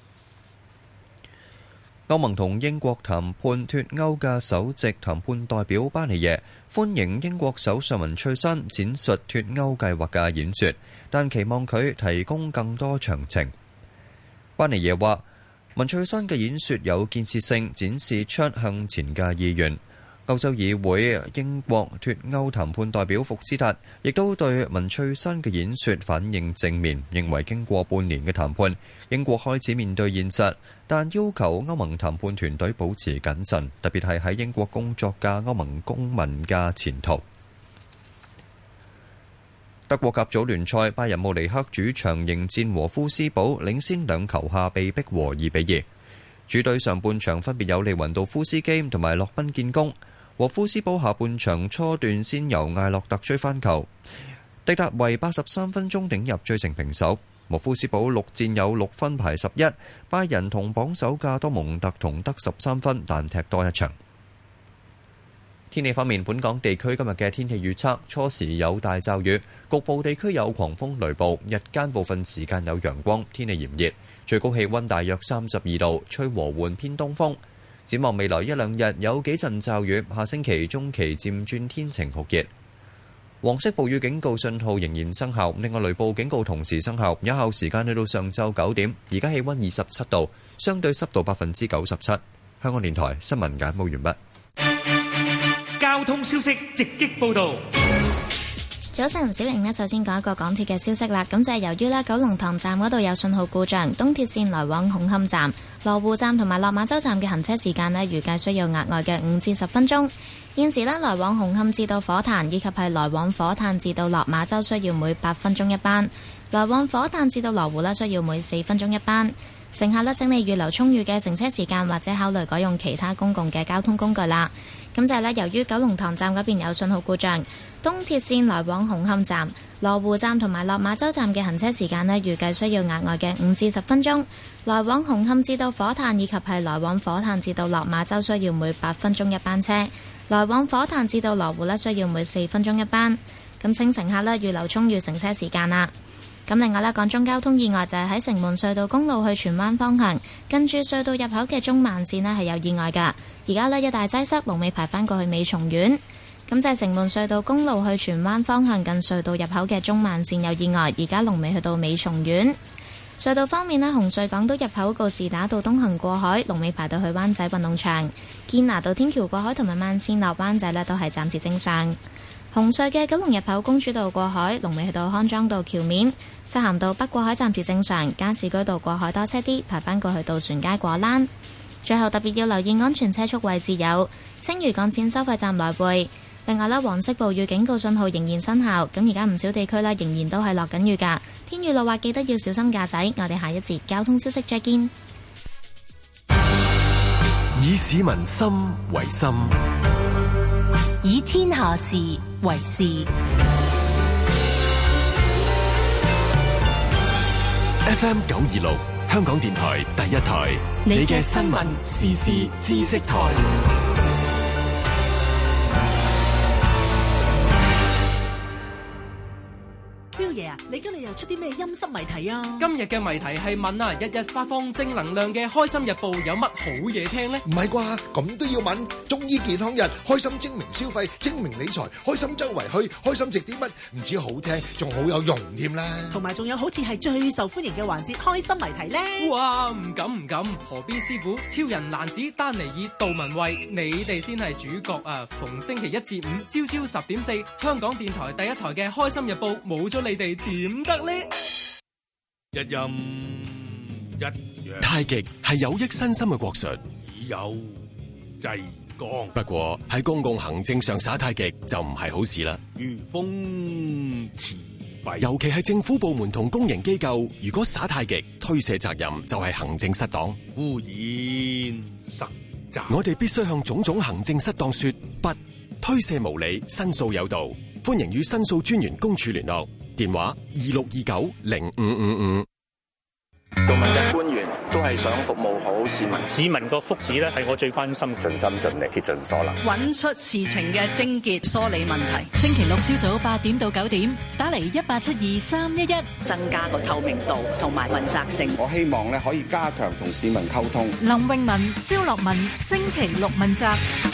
T: 歐盟同英國談判脱歐嘅首席談判代表巴尼耶歡迎英國首相文翠珊展述脱歐計劃嘅演說，但期望佢提供更多詳情。巴尼耶話，文翠珊嘅演說有建設性，展示出向前嘅意願。歐洲議會英國脱歐談判代表福斯達亦都對文翠珊嘅演說反應正面，認為經過半年嘅談判，英國開始面對現實，但要求歐盟談判團隊保持謹慎，特別係喺英國工作嘅歐盟公民嘅前途。德國甲組聯賽，拜仁慕尼黑主場迎戰和夫斯堡，領先2球下被逼和2-2。主隊上半場分別有利雲道夫斯基同埋洛賓建功，和夫斯堡下半場初段先由艾洛特追翻球，迪達維83分鐘頂入追成平手。和夫斯堡6戰有6分排11，拜仁同榜首嘅多蒙特同得13分，但踢多一場。天氣方面，本港地區今日嘅天氣預測，初時有大驟雨，局部地區有狂風雷暴，日間部分時間有陽光，天氣炎熱，最高氣溫大約32度，吹和緩偏東風。展望未來1-2日有幾陣驟雨，下星期中期漸轉天晴酷熱。黃色暴雨警告信號仍然生效，另外雷暴警告同時生效，有效時間去到上晝9點。而家氣溫27度，相對濕度97%。香港電台新聞簡報完畢。
S: 交通消息直擊報道。
A: 早晨，小瑩呢，首先講一個港鐵嘅消息啦。咁就係由於呢九龍塘站嗰度有信號故障，東鐵線來往紅磡站、羅湖站同埋落馬洲站嘅行車時間呢，預計需要額外嘅5至10分鐘。現時呢，來往紅磡至到火炭以及係來往火炭至到落馬洲需要每8分鐘一班，來往火炭至到羅湖呢，需要每4分鐘一班。乘客呢，請你預留充裕嘅乘車時間，或者考慮改用其他公共嘅交通工具啦。咁就係呢，由於九龍塘站嗰邊有信號故障，東鐵線來往紅磡站、羅湖站同埋落馬洲站嘅行車時間呢，預計需要額外嘅5至10分鐘。來往紅磡至到火炭以及係來往火炭至到落馬洲需要每8分鐘一班車，來往火炭至到羅湖呢，需要每4分鐘一班。 咁請乘客呢預留充裕乘車時間啦。咁另外呢，港中交通意外就係喺城門隧道公路去荃灣方向，近住隧道入口嘅中慢線呢係有意外㗎。而家呢，一大擠塞，龍尾排返過去美松苑。咁就係城門隧道公路去荃灣方向近隧道入口嘅中慢線有意外，而家龍尾去到美松苑。隧道方面呢，紅隧港島入口告士打道東行過海，龍尾排到去灣仔運動場；堅拿道天橋過海同埋慢線落灣仔呢都係暫時正常。紅隧嘅九龍入口公主道過海，龍尾去到康莊道橋面；漆咸道北過海暫時正常，加士居道過海多車啲，排返過去渡船街果欄。最後特別要留意安全車速位置有青嶼幹線收費站來回。另外呢，黃色暴雨警告信號仍然生效，咁而家唔少地區呢仍然都係落緊雨㗎。天雨路滑，記得要小心駕駛。我哋下一節交通消息再見。
B: 以市民心為心，
L: 以天下事為事。
B: FM 926，香港電台第一台，你嘅新聞時事知識台。
U: 彪爺啊，你今日又出啲咩陰濕謎題啊？
V: 今日嘅謎題係問啊，日日發放正能量嘅開心日報有乜好嘢聽呢？
W: 唔係啩？咁都要問？中醫健康日，開心精明消費，精明理財，開心周圍去，開心食啲乜？唔止好聽，仲好有用添啦！
U: 同埋仲有好似係最受歡迎嘅環節，開心謎題呢？
V: 哇，唔敢！何必師傅、超人男子、丹尼爾、杜文蔚，你哋先係主角啊！逢星期一至五朝朝10:4，香港電台第一台嘅開心日報冇咗你哋點得呢？
X: 一陰一陽，
B: 太極係有益身心嘅國術，
X: 以柔制剛。
B: 不過喺公共行政上耍太極就唔係好事啦。
X: 如風持弊，
B: 尤其係政府部門同公營機構，如果耍太極，推卸責任就係行政失當，
X: 污染實責。
B: 我哋必須向種種行政失當說不，推卸無理，申訴有道。歡迎與申訴專員公署聯絡。電話26290555。
J: 做問責官員都係想服務好市民，
K: 市民個福祉咧係我最關心，
Y: 盡心盡力竭盡所能，
L: 揾出事情嘅症結，梳理問題。星期六朝早8點到9點，打嚟1872-311，
M: 增加個透明度同埋問責性。
N: 我希望咧可以加強同市民溝通。
L: 林詠雯、蕭樂文，星期六問責。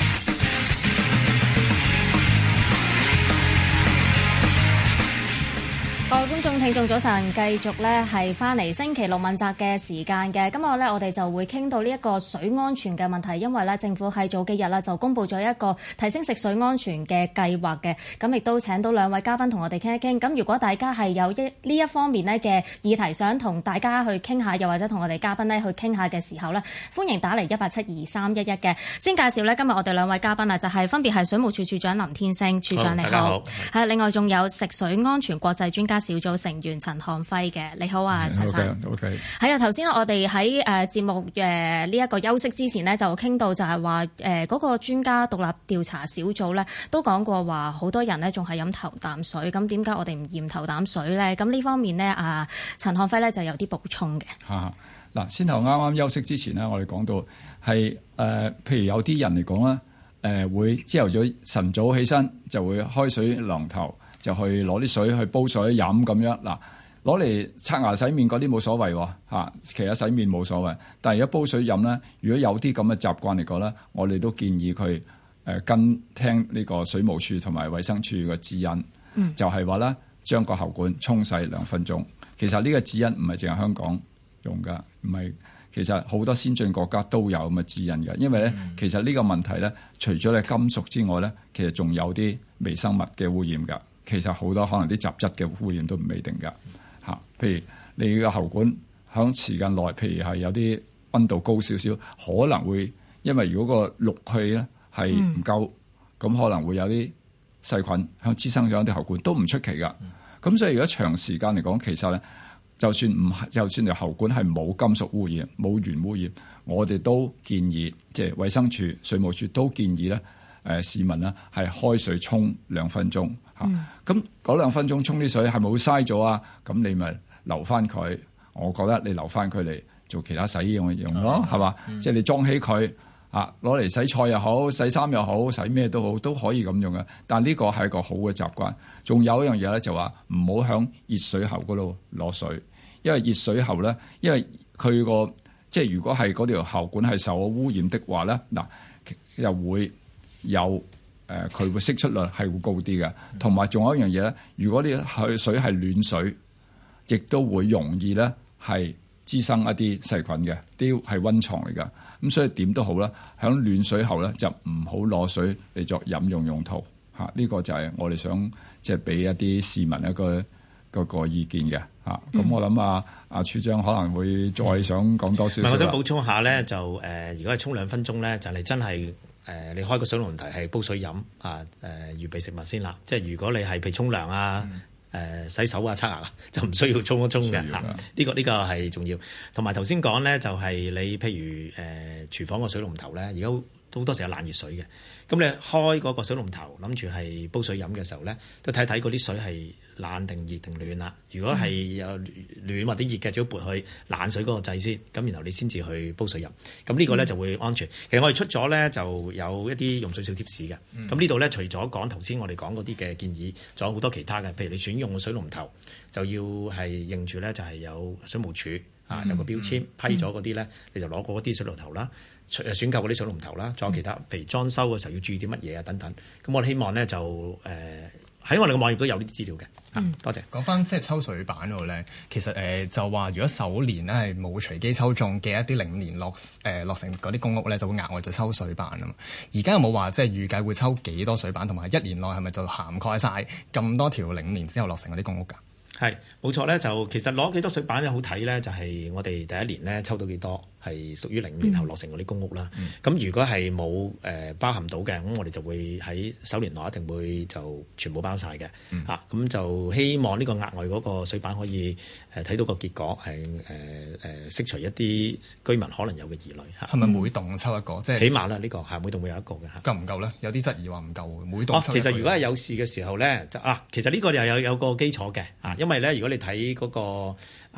O: 各位觀眾、聽眾早晨，繼續咧係翻嚟星期六問責嘅時間嘅。今日咧我哋就會傾到呢一個水安全嘅問題，因為咧政府喺早幾日啦就公布咗一個提升食水安全嘅計劃嘅。咁亦都請到兩位嘉賓同我哋傾一傾。咁如果大家係有呢一方面咧嘅議題想同大家去傾下，又或者同我哋嘉賓咧去傾下嘅時候咧，歡迎打嚟1872-311嘅。先介紹咧今日我哋兩位嘉賓啊，就係分別係水務署署長林天星，署長你好。大家好。係另外仲有食水安全國際專家小組成員陳漢輝嘅，你好啊，陳生。
R: OK。
O: 係啊，頭先我哋喺節目呢一個休息之前呢，就傾到就係話嗰個專家獨立調查小組咧，都講過話好多人呢仲係飲頭啖水，咁點解我哋唔驗頭啖水咧？咁呢方面呢，陳漢輝咧就有啲補充嘅。
R: 嗱，先頭啱啱休息之前呢，我哋講到係譬如有啲人嚟講咧，會朝頭早晨早起身就會開水龍頭。就去攞啲水去煲水飲咁樣。嗱，攞嚟刷牙洗面嗰啲冇所謂喎，其實洗面冇所謂。但係如果煲水飲咧，如果有啲咁嘅習慣嚟講咧，我哋都建議佢跟聽呢個水務署同埋衛生署嘅指引，就係話咧將個喉管沖洗2分鐘。其實呢個指引唔係淨係香港用㗎，唔係，其實好多先進國家都有咁嘅指引㗎。因為咧，其實呢個問題咧，除咗你金屬之外咧，其實仲有啲微生物嘅污染㗎。其實好多可能啲雜質嘅污染都唔未定㗎嚇。譬如你個喉管響時間內，譬如係有啲溫度高少少，可能會因為如果個氯氣咧係唔夠，咁可能會有啲細菌響滋生咗啲喉管，都唔出奇㗎。咁所以如果長時間嚟講，其實咧就算條喉管係冇金屬污染、冇鉛污染，我哋都建議即係衛生署、水務署都建議咧市民呢係開水沖2分鐘。咁嗰2分鐘沖啲水係咪會嘥咗啊？咁你咪留翻佢，我覺得你留翻佢嚟做其他洗衣用咯，係嘛？即係你裝起佢攞嚟洗菜又好，洗衫又好，洗咩都好，都可以咁用嘅。但呢個係一個好嘅習慣。仲有一樣嘢咧，就話唔好響熱水喉嗰度攞水，因為熱水喉咧，因為佢個即係如果係嗰條喉管係受咗污染的話咧，又會有佢會釋出率係會高啲嘅。同埋仲有一樣嘢咧，如果啲水係暖水，亦都會容易咧係滋生一啲細菌嘅，啲係溫床嚟㗎。咁所以點都好啦，響暖水喉咧就唔好攞水嚟作飲用用途嚇。呢個就係我哋想即係俾一啲市民一個意見嘅嚇。咁我諗阿處長可能會再想講多少少。
D: 我想補充下咧，就如果係沖2分鐘咧，就你真係你開個水龍頭係煲水飲預備食物先啦。即係如果你係譬如沖涼啊。洗手啊、刷牙就唔需要沖一沖嘅嚇，呢個係重要。同埋頭先講咧，就係你譬如廚房個水龍頭咧，而家好多時有冷熱水嘅。咁你開嗰個水龍頭，諗住係煲水飲嘅時候咧，都睇睇嗰啲水係冷定熱定暖啦。如果係有暖或者熱嘅，最好撥去冷水嗰個掣先，咁然後你先至去煲水飲。咁呢個咧就會安全。其實我哋出咗咧就有一啲用水小貼士嘅。咁呢度咧除咗講頭先我哋講嗰啲嘅建議，仲有好多其他嘅。譬如你選用嘅水龍頭，就要係認住咧就係有水務署有個標籤批咗嗰啲咧，你就攞過嗰啲水龍頭啦。選購嗰啲水龍頭啦，仲有其他，譬如裝修嘅時候要注意啲乜嘢啊等等。咁我哋希望咧就喺我哋嘅網頁都有呢啲資料嘅。多謝。
E: 講翻即係抽水板嗰度咧，其實就話如果首年咧係冇隨機抽中嘅一啲05年落成嗰啲公屋咧，就會額外就抽水板啊嘛。而家有冇話即係預計會抽幾多水板，同埋1年內係咪就涵蓋晒咁多條05年之後落成嗰啲公屋㗎？
D: 係冇錯咧，就其實攞幾多水板咧好睇咧，就係我哋第一年咧抽到幾多。係屬於05年後落成嗰啲公屋啦。咁如果係冇包含到嘅，咁我哋就會喺首年內一定會就全部包晒嘅。咁就希望呢個額外嗰個水板可以睇到個結果係釋除一啲居民可能有嘅疑慮。
E: 係咪每棟抽一個？即係
D: 起碼啦，呢個係每棟會有一個嘅。
E: 夠唔夠咧？有啲質疑話唔夠，每棟抽一個。
D: 其實如果係有事嘅時候咧，其實呢個又有個基礎嘅。因為咧，如果你睇嗰個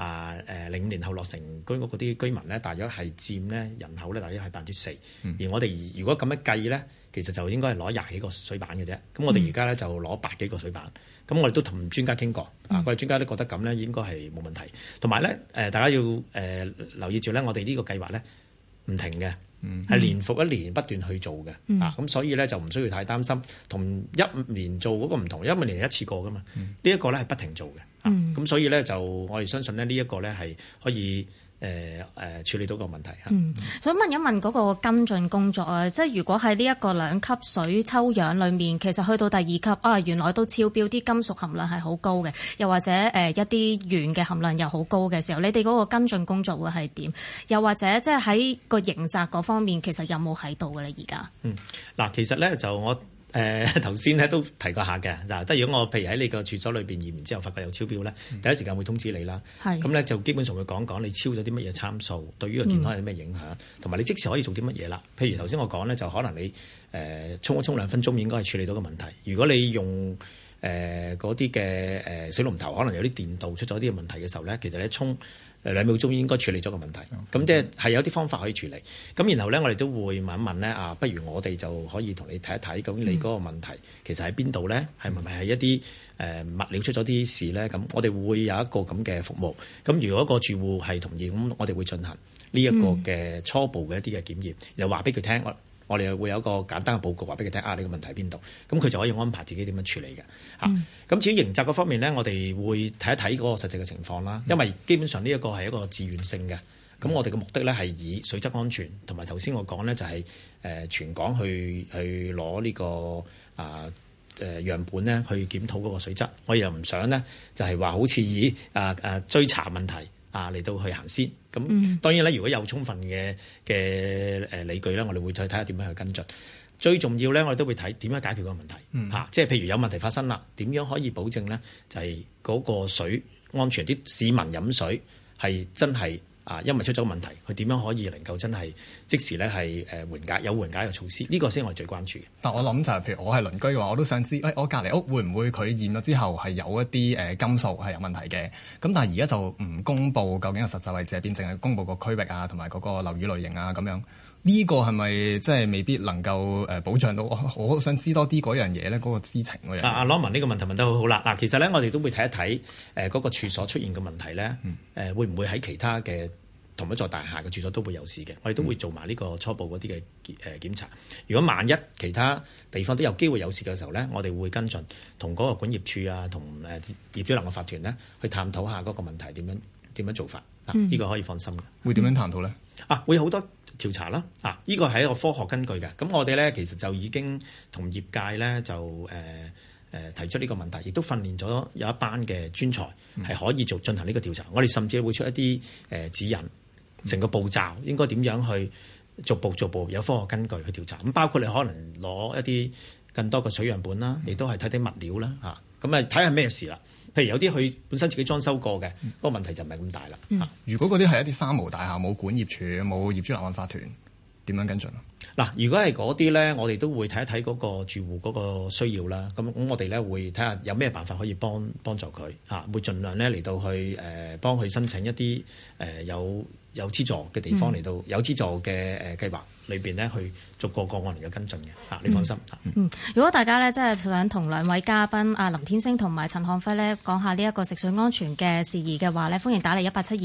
D: 05年後落成居屋嗰啲居民咧，大約係佔咧人口咧，大約係4%。而我哋如果咁樣計咧，其實就應該係攞20幾個水板嘅啫。咁我哋而家咧就攞百幾個水板。咁我哋都同專家傾過，我哋專家都覺得咁咧應該係冇問題。同埋咧，大家要留意住咧，我哋呢個計劃咧唔停嘅，係年復一年不斷去做嘅。咁所以咧就唔需要太擔心。同1年做嗰個唔同，1年係一次過噶嘛。呢一個咧係不停做嘅。咁所以咧就我哋相信咧呢一個咧係可以處理到個問題嚇。
O: 想問一問嗰個跟進工作啊，即係如果喺呢一個2級水抽樣裏面，其實去到第2級原來都超標，啲金屬含量係好高嘅，又或者一啲鉛嘅含量又好高嘅時候，你哋嗰個跟進工作會係點？又或者即係喺個刑責嗰方面，其實有冇喺度嘅咧？而家
D: 嗱，其實咧就我。頭先咧都提過下嘅嗱，即係如果我譬如喺你個處所裏邊驗完之後發覺有超標咧，第一時間會通知你啦。咁咧就基本上會講你超咗啲乜嘢參數，對於個健康有啲咩影響，同埋你即時可以做啲乜嘢啦。譬如頭先我講咧，就可能你沖2分鐘應該係處理到個問題。如果你用嗰啲嘅水龍頭，可能有啲電導出咗啲問題嘅時候咧，其實你沖2秒鐘應該處理咗個問題。咁即係有啲方法可以處理。咁然後咧，我哋都會問一問咧不如我哋就可以同你睇一睇，究竟你嗰個問題其實喺邊度咧？係咪係一啲物料出咗啲事咧？咁我哋會有一個咁嘅服務。咁如果個住戶係同意，咁我哋會進行呢一個嘅初步嘅一啲嘅檢驗，又話俾佢聽。我哋會有一個簡單嘅報告話俾佢聽呢個問題喺邊度，咁佢就可以安排自己點樣處理嘅。咁至於刑責嗰方面咧，我哋會睇一睇嗰個實際嘅情況啦。因為基本上呢一個係一個自願性嘅，咁我哋嘅目的咧係以水質安全同埋頭先我講咧就係全港去攞呢個樣本咧去檢討嗰個水質。我又唔想咧就係話好似以追查問題嚟到去行先。咁當然咧，如果有充分嘅理據咧，我哋會再睇下點樣去跟進。最重要咧，我哋都會睇點樣解決個問題。即係譬如有問題發生啦，點樣可以保證咧？就係嗰個水安全，啲市民飲水係真係因為出咗問題，佢點樣可以能夠真係即時咧係緩解嘅措施？呢個先係我哋最關注嘅。
E: 但我諗就係譬如我係鄰居嘅話，我都想知，我隔離屋會唔會佢驗咗之後係有一啲金屬係有問題嘅？咁但係而家就唔公佈究竟個實際位置喺邊，淨係公佈個區域同埋嗰個樓宇類型咁樣。 呢個係咪即係未必能夠保障到？我想知多啲嗰樣嘢咧，嗰個知情嗰樣。
D: 阿 Norman 呢個問題問得好好啦。嗱，其實咧我哋都會睇一睇嗰個處所出現嘅問題咧，會唔會喺其他嘅同一座大廈嘅住所都會有事嘅？我哋都會做埋呢個初步嗰啲嘅檢查。如果萬一其他地方都有機會有事嘅時候咧，我哋會跟進同嗰個管業處啊，同業主立案法團咧去探討下嗰個問題點樣做法。呢個可以放心嘅。
E: 會點樣探討咧？
D: 會好多調查啦。呢個係一個科學根據嘅。咁我哋咧其實就已經同業界咧就提出呢個問題，亦都訓練咗有一班嘅專才係可以進行呢個調查。我哋甚至會出一啲指引，成個步驟應該點樣去逐步有科學根據去調查。咁包括你可能攞一啲更多嘅水樣本啦，亦都係睇啲物料啦。咁睇下咩事啦。譬如有啲佢本身自己裝修過嘅，嗰個問題就唔係咁大啦。
E: 如果嗰啲係一啲三無大廈，冇管業處、冇業主立案法團，點樣跟進啊？
D: 嗱，如果係嗰啲咧，我哋都會睇一睇嗰個住戶嗰個需要啦。咁我哋咧會睇下有咩辦法可以幫助佢會盡量咧嚟到去幫佢申請一啲有資助嘅地方嚟到有資助嘅計劃裏邊咧去逐個案嚟嘅跟進嘅。你放心。
O: 如果大家咧真係想同兩位嘉賓林天星同埋陳漢輝咧講下呢一個食水安全嘅事宜嘅話咧，歡迎打嚟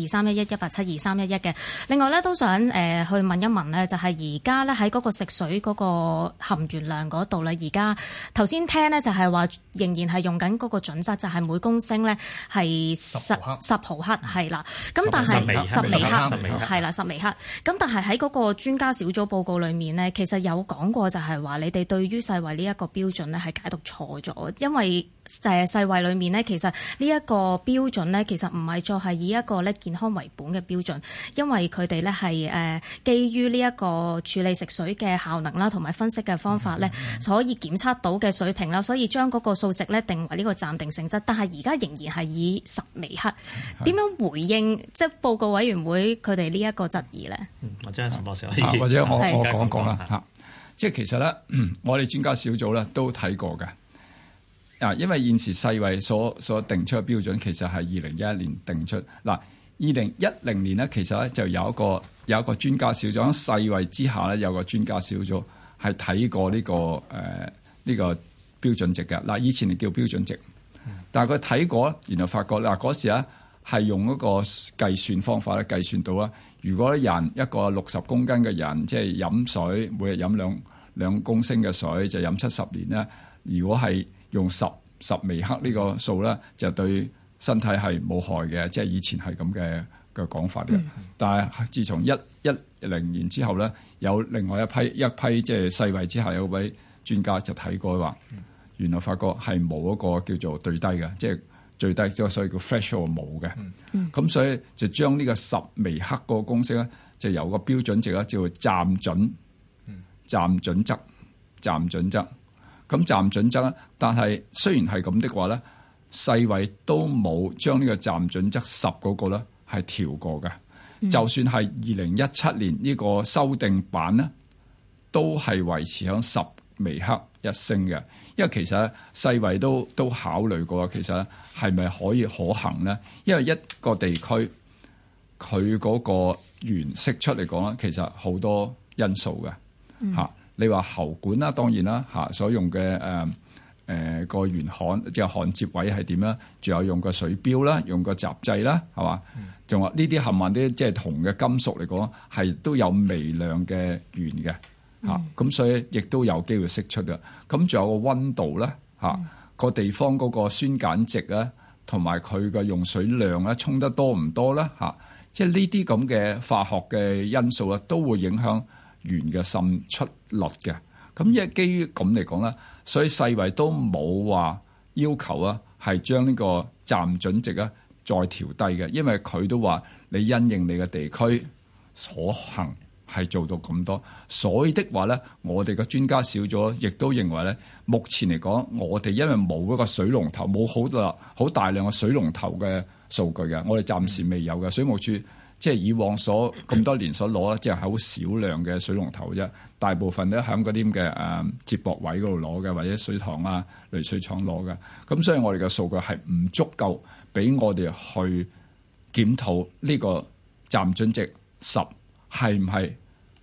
O: 187231187231嘅。另外咧都想去問一問咧，就係而家咧喺嗰個食水嗰個含鉛量嗰度咧，而家頭先聽咧就係話仍然係用緊嗰個準則，就係每公升咧係10毫克係啦。咁但係10微克係啦，10微克。咁但係喺嗰個專家小組報告裏面呢，其實有講過就係話你哋對於世衛呢一個標準呢係解讀錯咗，因為世衛裏面呢，其實呢一個標準呢，其實唔係再係以一個咧健康為本嘅標準，因為佢哋呢係基於呢一個處理食水嘅效能啦，同埋分析嘅方法呢，可以檢測到嘅水平啦，所以將嗰個數值呢定為呢個暫定性質。但係而家仍然係以10微克，點樣回應即係報告委員會佢哋呢一個質疑呢？
D: 或者陳博士
R: 或者我講講啦。即係其實咧，我哋專家小組咧都睇過嘅。因為現時世衛所定出嘅標準其實係2011年定出。2010年咧，其實咧就有一個專家小組喺世衛之下咧，有個專家小組係睇過呢個標準值嘅。以前係叫標準值，但係佢睇過，然後發覺嗰時咧係用嗰個計算方法咧計算到啦。如果一個60公斤嘅人，即係飲水每日飲兩公升嘅水，就飲70年咧。如果係用10微克呢個數咧，就對身體係冇害嘅，即係以前係咁嘅講法嘅。但係自從110年之後咧，有另外一批即係世衛之下有位專家就睇過話，原來發覺係冇一個叫做最低嘅，即係最低即係所以叫 threshold 冇嘅。咁所以就將呢個10微克嗰個公式咧，就由個標準值咧叫做暫準則。咁暫準則，但係雖然係咁的話咧，世衛都冇將呢個暫準則10嗰個咧係調過嘅。就算係2017年呢個修訂版咧，都係維持響10微克一升嘅。因為其實世衛都考慮過，其實係咪可以可行咧？因為一個地區佢嗰個原釋出嚟講咧，其實好多因素嘅嚇。你話喉管啦，當然啦嚇，所用嘅個原焊即係焊接位係點啦？仲有用個水標啦，用個閘掣啦，係嘛？仲話呢啲冚唪唥啲即係銅嘅金屬嚟講，係都有微量嘅鉛嘅嚇，咁所以亦都有機會釋出嘅。咁仲有個溫度啦嚇，個地方嗰個酸鹼值啊，同埋佢嘅用水量咧，沖得多唔多啦嚇？即係呢啲咁嘅化學嘅因素啊，都會影響鉛嘅滲出率嘅。咁因為基於咁嚟講咧，所以世衛都冇話要求啊，係將呢個暫準值啊再調低嘅，因為佢都話你因應你嘅地區所行係做到咁多，所以的話咧，我哋嘅專家小組亦都認為咧，目前嚟講，我哋因為冇一個水龍頭，冇好大量嘅水龍頭嘅數據嘅，我哋暫時未有嘅。水務署即係以往咁多年所攞咧，即係好少量嘅水龍頭啫，大部分都喺嗰啲嘅接駁位嗰度攞嘅，或者水塘啊、濾水廠攞嘅。咁所以我哋嘅數據係唔足夠俾我哋去檢討呢個暫準值10係唔係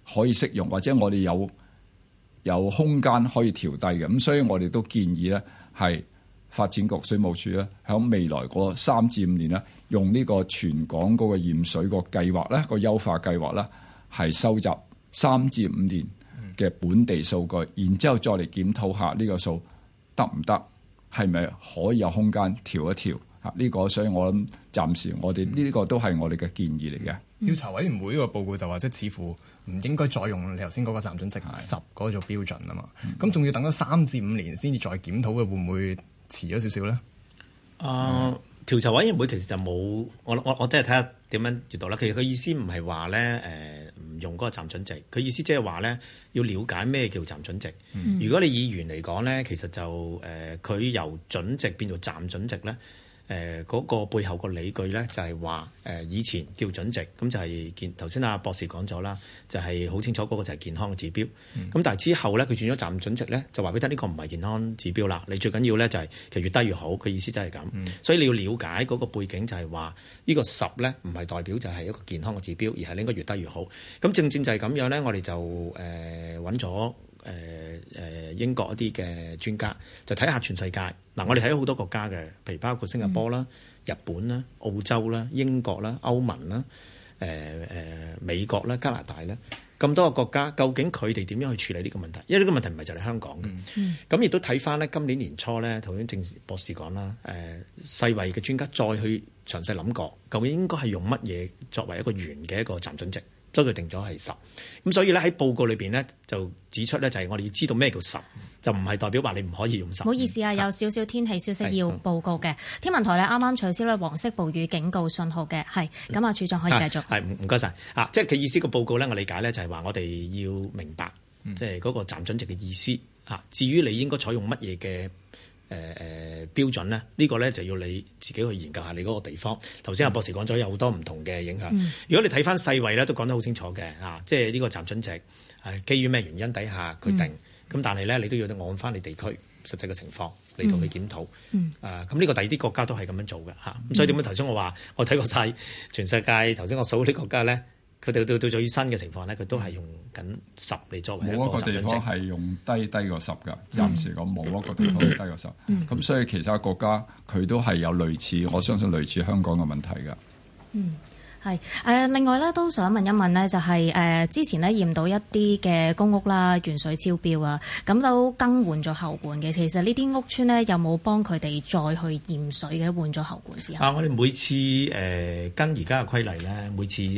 R: 可以適用，或者我哋有空間可以調低嘅。咁所以我哋都建議咧，係發展局水務署咧，喺未來嗰3至5年咧，用呢個全港嗰個驗水個計劃咧，個優化計劃咧，係收集3至5年嘅本地數據，然之後再嚟檢討下呢個數得唔得，係咪可以有空間調一調啊？呢個所以我諗暫時我哋呢個都係我哋嘅建議嚟嘅。
E: 調查委員會呢個報告就話，即係似乎唔應該再用你頭先嗰個暫準值10嗰個做標準啊嘛。咁仲要等咗3至5年先至再檢討嘅，會唔會遲咗少少咧？
D: 調查委員會其實就冇，我真係睇下點樣閱讀啦。其實佢意思唔係話咧唔用嗰個暫準值，佢意思即係話咧要了解咩叫暫準值。如果你議員嚟講咧，其實就佢由準值變做暫準值咧。嗰個背後個理據咧，就係話以前叫準值，咁就係頭先阿博士講咗啦，就係好清楚嗰個就係健康嘅指標。咁但係之後咧，佢轉咗暫準值咧，就話俾你聽呢個唔係健康指標啦。你最緊要咧就係其實越低越好，佢意思真係咁。所以你要了解嗰個背景，就係話呢個10咧唔係代表就係一個健康嘅指標，而係你應該越低越好。咁正就係咁樣咧，我哋就揾咗英國一啲嘅專家，就睇下全世界。嗱，我哋睇咗好多國家嘅，譬如包括新加坡啦、日本啦、澳洲啦、英國啦、歐盟啦、美國啦、加拿大啦，咁多個國家，究竟佢哋點樣去處理呢個問題？因為呢個問題唔係就係香港嘅。咁亦都睇翻咧，今年年初咧，頭先鄭博士講啦，世衛嘅專家再去詳細諗過，究竟應該係用乜嘢作為一個圓嘅一個暫準值？所以佢定咗係10，咁所以咧喺報告裏邊咧就指出咧就係我哋要知道咩叫10，就唔係代表話你唔可以用10。
O: 唔好意思啊，有少少天氣消息要報告嘅。天文台咧啱啱取消咧黃色暴雨警告信號嘅，係咁啊，處長可以繼續。係唔該晒啊，即係佢意思個報告咧，我理解咧就係話我哋要明白即係嗰個暫準值嘅意思啊。至於你應該採用乜嘢嘅標準咧，呢個咧就要你自己去研究下你嗰個地方。頭先阿博士講咗有好多唔同嘅影響。如果你睇翻世衛咧，都講得好清楚嘅啊，即係呢個暫準值係基於咩原因底下佢定。咁但係咧，你都要按翻你地區實際嘅情況嚟到去檢討。咁呢個第二啲國家都係咁樣做嘅嚇。咁所以點解頭先我話我睇過晒全世界頭先我數啲國家咧？佢哋到最新嘅情況咧，佢都係用緊10嚟作為一個暫準值。冇一個地方係用低過10㗎，暫時講冇一個地方低過10。咁所以其他國家佢都係有類似，我相信類似香港嘅問題㗎。係另外咧都想問一問呢，就係之前呢驗到一啲嘅公屋啦，原水超標啊，咁都更換咗喉管嘅。其實呢啲屋邨呢，有冇幫佢哋再去驗水嘅？換咗喉管之後我哋每次跟而家嘅規例咧，每次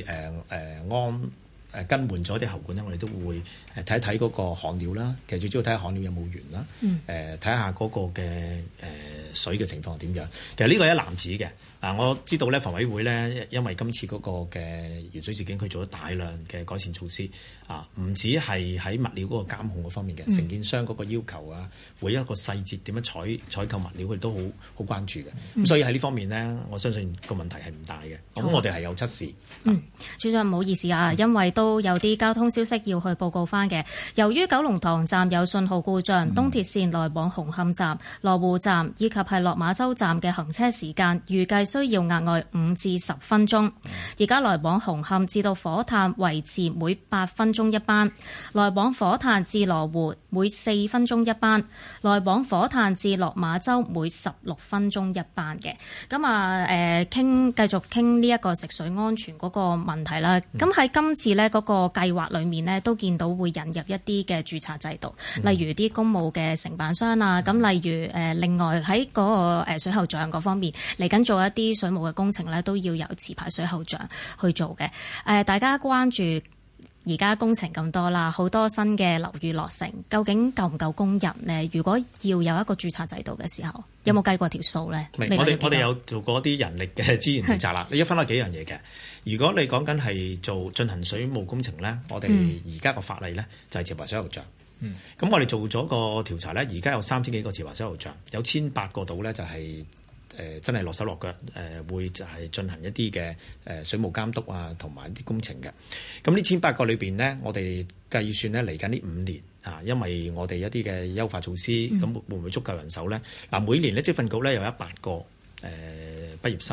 O: 更換咗啲喉管咧，我哋都會睇一睇嗰個焊料啦。其實最主要睇下焊料有冇鉛啦，睇下嗰個嘅水嘅情況點樣。其實呢個係一籃子嘅。我知道咧，房委會咧，因為今次嗰個嘅鉛水事件，佢做咗大量嘅改善措施唔止係喺物料嗰個監控嗰方面嘅，承建商嗰個要求啊，每一個細節點樣採購物料，佢都好關注嘅。咁所以喺呢方面呢，我相信個問題係唔大嘅。咁我哋係有測試。處長唔好意思啊，因為都有啲交通消息要去報告翻嘅。由於九龍塘站有信號故障，東鐵線來往紅磡站、羅湖站以及係落馬洲站嘅行車時間預計需要額外5至10分鐘。而家來往紅磡至到火炭維持每8分鐘一班，來往火炭至羅湖每4分鐘一班，來往火炭至落馬洲每16分鐘一班嘅。咁繼續傾呢一個食水安全嗰個問題啦。咁喺今次呢嗰個計劃裏面呢，都見到會引入一啲嘅註冊制度，例如啲公務嘅承辦商啊。咁例如另外喺嗰個水喉匠嗰方面嚟緊做一啲水務嘅工程呢，都要由持牌水喉匠去做嘅。大家關注而家工程咁多啦，好多新嘅樓宇落成，究竟夠唔夠工人呢？如果要有一個註冊制度嘅時候，有冇計過條數呢？我哋有做過啲人力嘅資源調查啦。你一分開幾樣嘢嘅。如果你講緊係進行水務工程呢，我哋而家個法例呢，就係持牌水喉匠。咁我哋做咗個調查呢，而家有3000幾個持牌水喉匠，有1800個度呢，就係真係落手落腳會就係進行一啲嘅水務監督啊，同埋啲工程嘅。咁呢1800個裏邊呢，我哋計算呢嚟緊呢5年因為我哋一啲嘅優化措施，咁會唔會足夠人手呢？每年呢，職訓局呢有100個畢業生。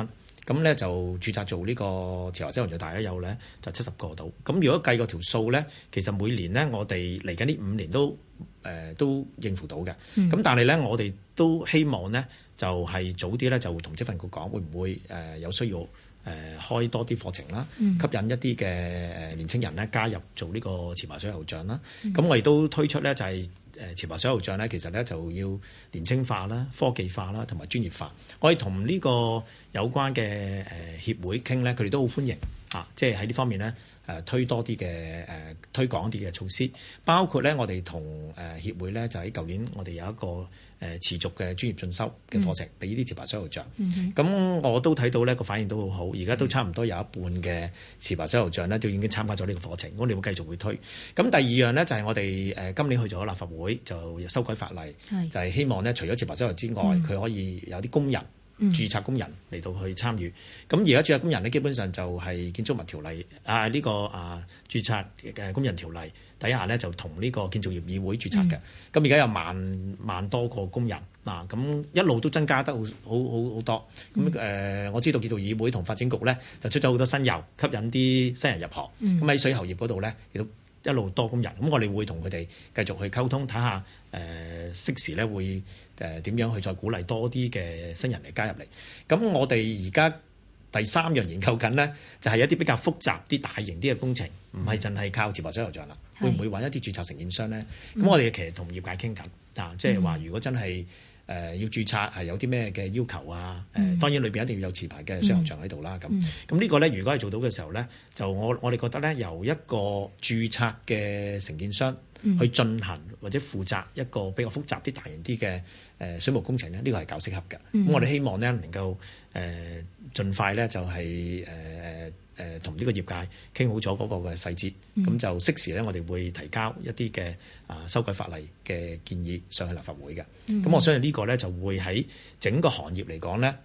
D: 咁咧就註冊做呢個持牌水喉匠大約有咧就70個到。咁如果計個條數咧，其實每年咧我哋嚟緊呢5年都應付到嘅。咁但係咧我哋都希望咧就係早啲咧就同職訓局講，會唔會有需要開多啲課程啦，吸引一啲嘅年青人咧加入做呢個持牌水喉匠啦。咁我亦都推出咧就係持牌水喉匠咧，其實咧就要年青化啦、科技化啦，同埋專業化。我哋同呢個有關嘅協會傾咧，佢哋都好歡迎啊！即係喺呢方面咧推多啲嘅推廣啲嘅措施，包括咧我哋同協會咧就喺舊年我哋有一個持續嘅專業進修嘅課程，俾呢啲持牌水喉匠。咁我都睇到呢個反應都好好，而家都差唔多有一半嘅持牌水喉匠呢都已經參加咗呢個課程。我哋會繼續會推。咁第二樣呢，就係我哋今年去咗立法會就修改法例，就係希望呢除咗持牌水喉之外，佢可以有啲工人。註冊工人嚟到去參與，咁而家註冊工人呢，基本上就係建築物條例呢個註冊嘅工人條例底下呢，就同呢個建造業議會註冊嘅。咁而家有萬多個工人嗱，咁一路都增加得好多。咁我知道建造業議會同發展局呢，就出咗好多新油，吸引啲新人入行。咁喺水喉業嗰度呢，亦都一路多工人。咁我哋會同佢哋繼續去溝通，睇下適時呢會點樣去再鼓勵多啲嘅新人嚟加入嚟。咁我哋而家第3樣研究緊呢，就係一啲比較複雜啲、大型啲嘅工程，唔係淨係靠持牌水喉匠啦。會唔會揾一啲註冊承建商呢？咁我哋其實同業界傾緊即係話如果真係要註冊係有啲咩嘅要求啊？當然裏邊一定要有持牌嘅水喉匠喺度啦。咁呢個呢，如果係做到嘅時候呢，就我哋覺得呢，由一個註冊嘅承建商去進行或者負責一個比較複雜啲、大型啲嘅水務工程呢，呢個係較適合嘅。咁我哋希望呢，能夠盡快呢，就係同呢個業界傾好咗嗰個嘅細節，咁就適時呢，我哋會提交一啲嘅修改法例嘅建議上去立法會嘅。咁我相信呢個呢，就會喺整個行業嚟講呢，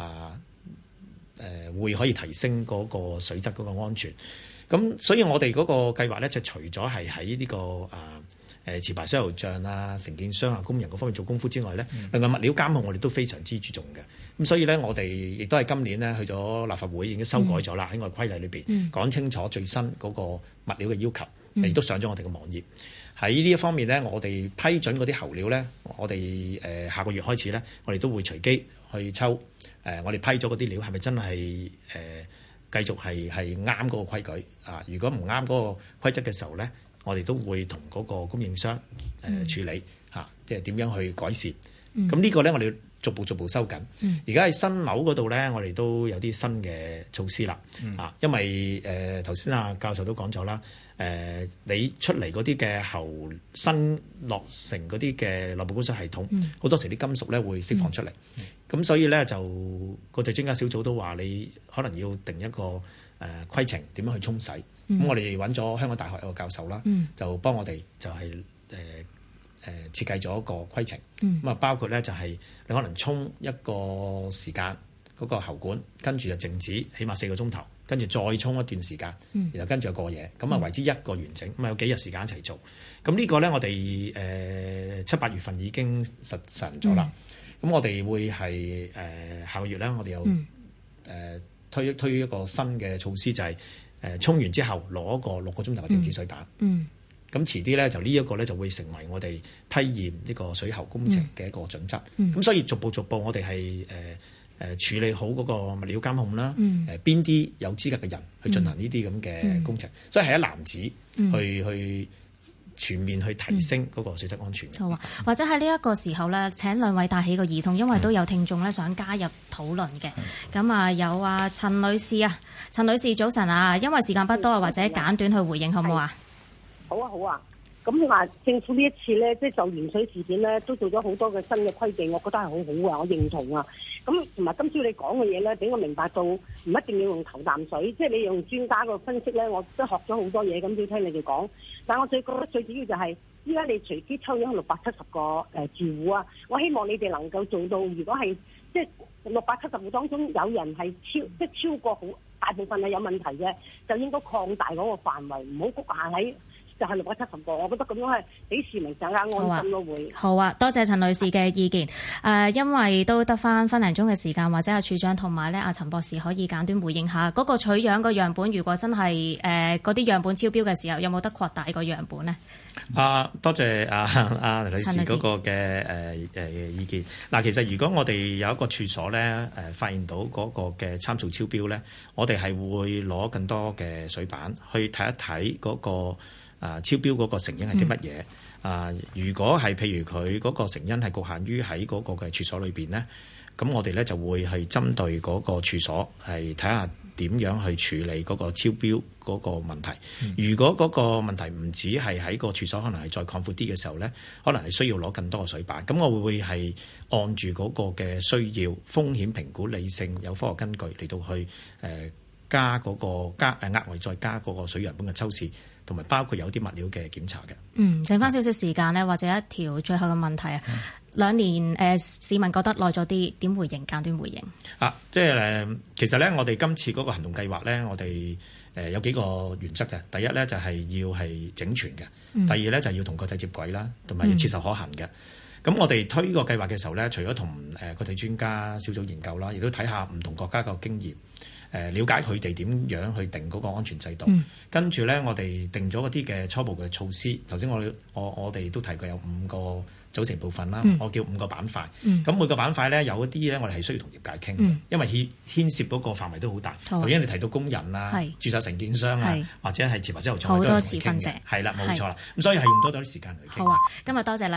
D: 會可以提升嗰個水質嗰個安全。咁所以我哋嗰個計劃咧，就除咗係喺呢個持牌水喉匠啊、承建商啊、工人嗰方面做功夫之外咧，另外物料監控我哋都非常之注重嘅。咁所以咧，我哋亦都係今年咧去咗立法會已經修改咗啦，喺我哋規例裏邊講清楚最新嗰個物料嘅要求，亦都上咗我哋嘅網頁。喺呢一方面咧，我哋批准嗰啲喉料咧，我哋下個月開始咧，我哋都會隨機去抽我哋批咗嗰啲料係咪真係繼續係啱嗰個規矩啊？如果唔啱嗰個規則嘅時候咧，我哋都會同嗰個供應商處理嚇，即係點樣去改善。咁呢個咧，我哋逐步收緊。而家喺新樓嗰度咧，我哋都有啲新嘅措施啦。因為頭先教授都講咗啦，你出嚟嗰啲嘅喉新落成嗰啲嘅內部供水系統，好多時啲金屬咧會釋放出嚟。咁所以咧就國際專家小組都話你可能要定一個規程點樣去沖洗。咁我哋揾咗香港大學一個教授啦，就幫我哋就係設計咗一個規程。咁啊包括咧就係你可能沖一個時間嗰個喉管，跟住就靜止起碼4個鐘頭，跟住再沖一段時間，然後跟住就過夜，咁啊為之一個完整。咁啊有幾日時間一齊做。咁呢個咧我哋7、8月份已經實行咗啦。咁我哋會係下個月咧，我哋有推一個新嘅措施，就係沖完之後攞一個6個鐘頭嘅靜止水板。咁遲啲咧就呢一個咧就會成為我哋批驗呢個水喉工程嘅一個準則。咁所以逐步我哋係處理好嗰個物料監控啦。邊啲有資格嘅人去進行呢啲咁嘅工程，所以係一籃子去全面去提升嗰個水質安全。
O: 好啊，或者喺呢一個時候咧，請兩位帶起個兒童，因為都有聽眾咧想加入討論嘅。咁有陳女士啊，陳女士早晨啊，因為時間不多啊，或者簡短去回應好唔好啊？
C: 好啊。咁你話政府呢一次咧，即係就鉛水事件咧，都做咗好多嘅新嘅規定，我覺得係好好啊，我認同啊。咁同埋今朝你講嘅嘢咧，俾我明白到唔一定要用頭啖水，即係你用專家個分析咧，我都學咗好多嘢。咁要聽你哋講，但係我覺得最主要就係依家你隨機抽咗670個住戶啊，我希望你哋能夠做到，如果係即係670戶當中有人係超過好大部分係有問題嘅，就應該擴大嗰個範圍，唔好局限喺就係670個，我覺得咁樣係俾市民更加安心咯。會
O: 好啊，多謝陳女士嘅意見。因為都得翻分零鐘嘅時間，或者阿處長同埋咧阿陳博士可以簡短回應下嗰個取樣個樣本，如果真係嗰啲樣本超標嘅時候，有冇得擴大個樣本呢？
D: 多謝阿女士嗰個嘅意見。嗱，其實如果我哋有一個處所咧發現到嗰個嘅參數超標咧，我哋係會攞更多嘅水板去睇一睇嗰個超標嗰個成因係啲乜嘢。如果係譬如佢嗰個成因係局限於喺嗰個嘅處所裏邊咧，咁我哋咧就會係針對嗰個處所係睇下點樣去處理嗰個超標嗰個問題。如果嗰個問題唔止係喺個處所，可能係再擴闊啲嘅時候咧，可能係需要攞更多嘅水板。咁我會係按住嗰個嘅需要、風險評估、理性、有科學根據嚟到去加嗰個額外再加嗰個水樣本嘅抽試，同埋包括有啲物料嘅檢查嘅。
O: 剩翻少少時間呢，或者一條最後嘅問題啊。2年市民覺得耐咗啲，點回應？簡短回應。
D: 即係其實咧，我哋今次嗰個行動計劃咧，我哋有幾個原則嘅。第一咧就係要係整全嘅，第二咧就係要同國際接軌啦，同埋要切實可行嘅。咁我哋推個計劃嘅時候咧，除咗同國際專家小組研究啦，亦都睇下唔同國家個經驗。了解佢哋點樣去定嗰個安全制度，跟住咧我哋定咗嗰啲嘅初步嘅措施。頭先我哋都提過有5個組成部分啦，我叫5個板塊。咁每個板塊咧有一啲咧，我哋係需要同業界傾，因為牽涉嗰個範圍都好大。頭先你提到工人啊、註冊承建商啊，或者係持牌者後廠好
O: 多持份者，
D: 係啦，冇錯啦。咁所以係用多啲時間去傾。
O: 好啊，今日多謝兩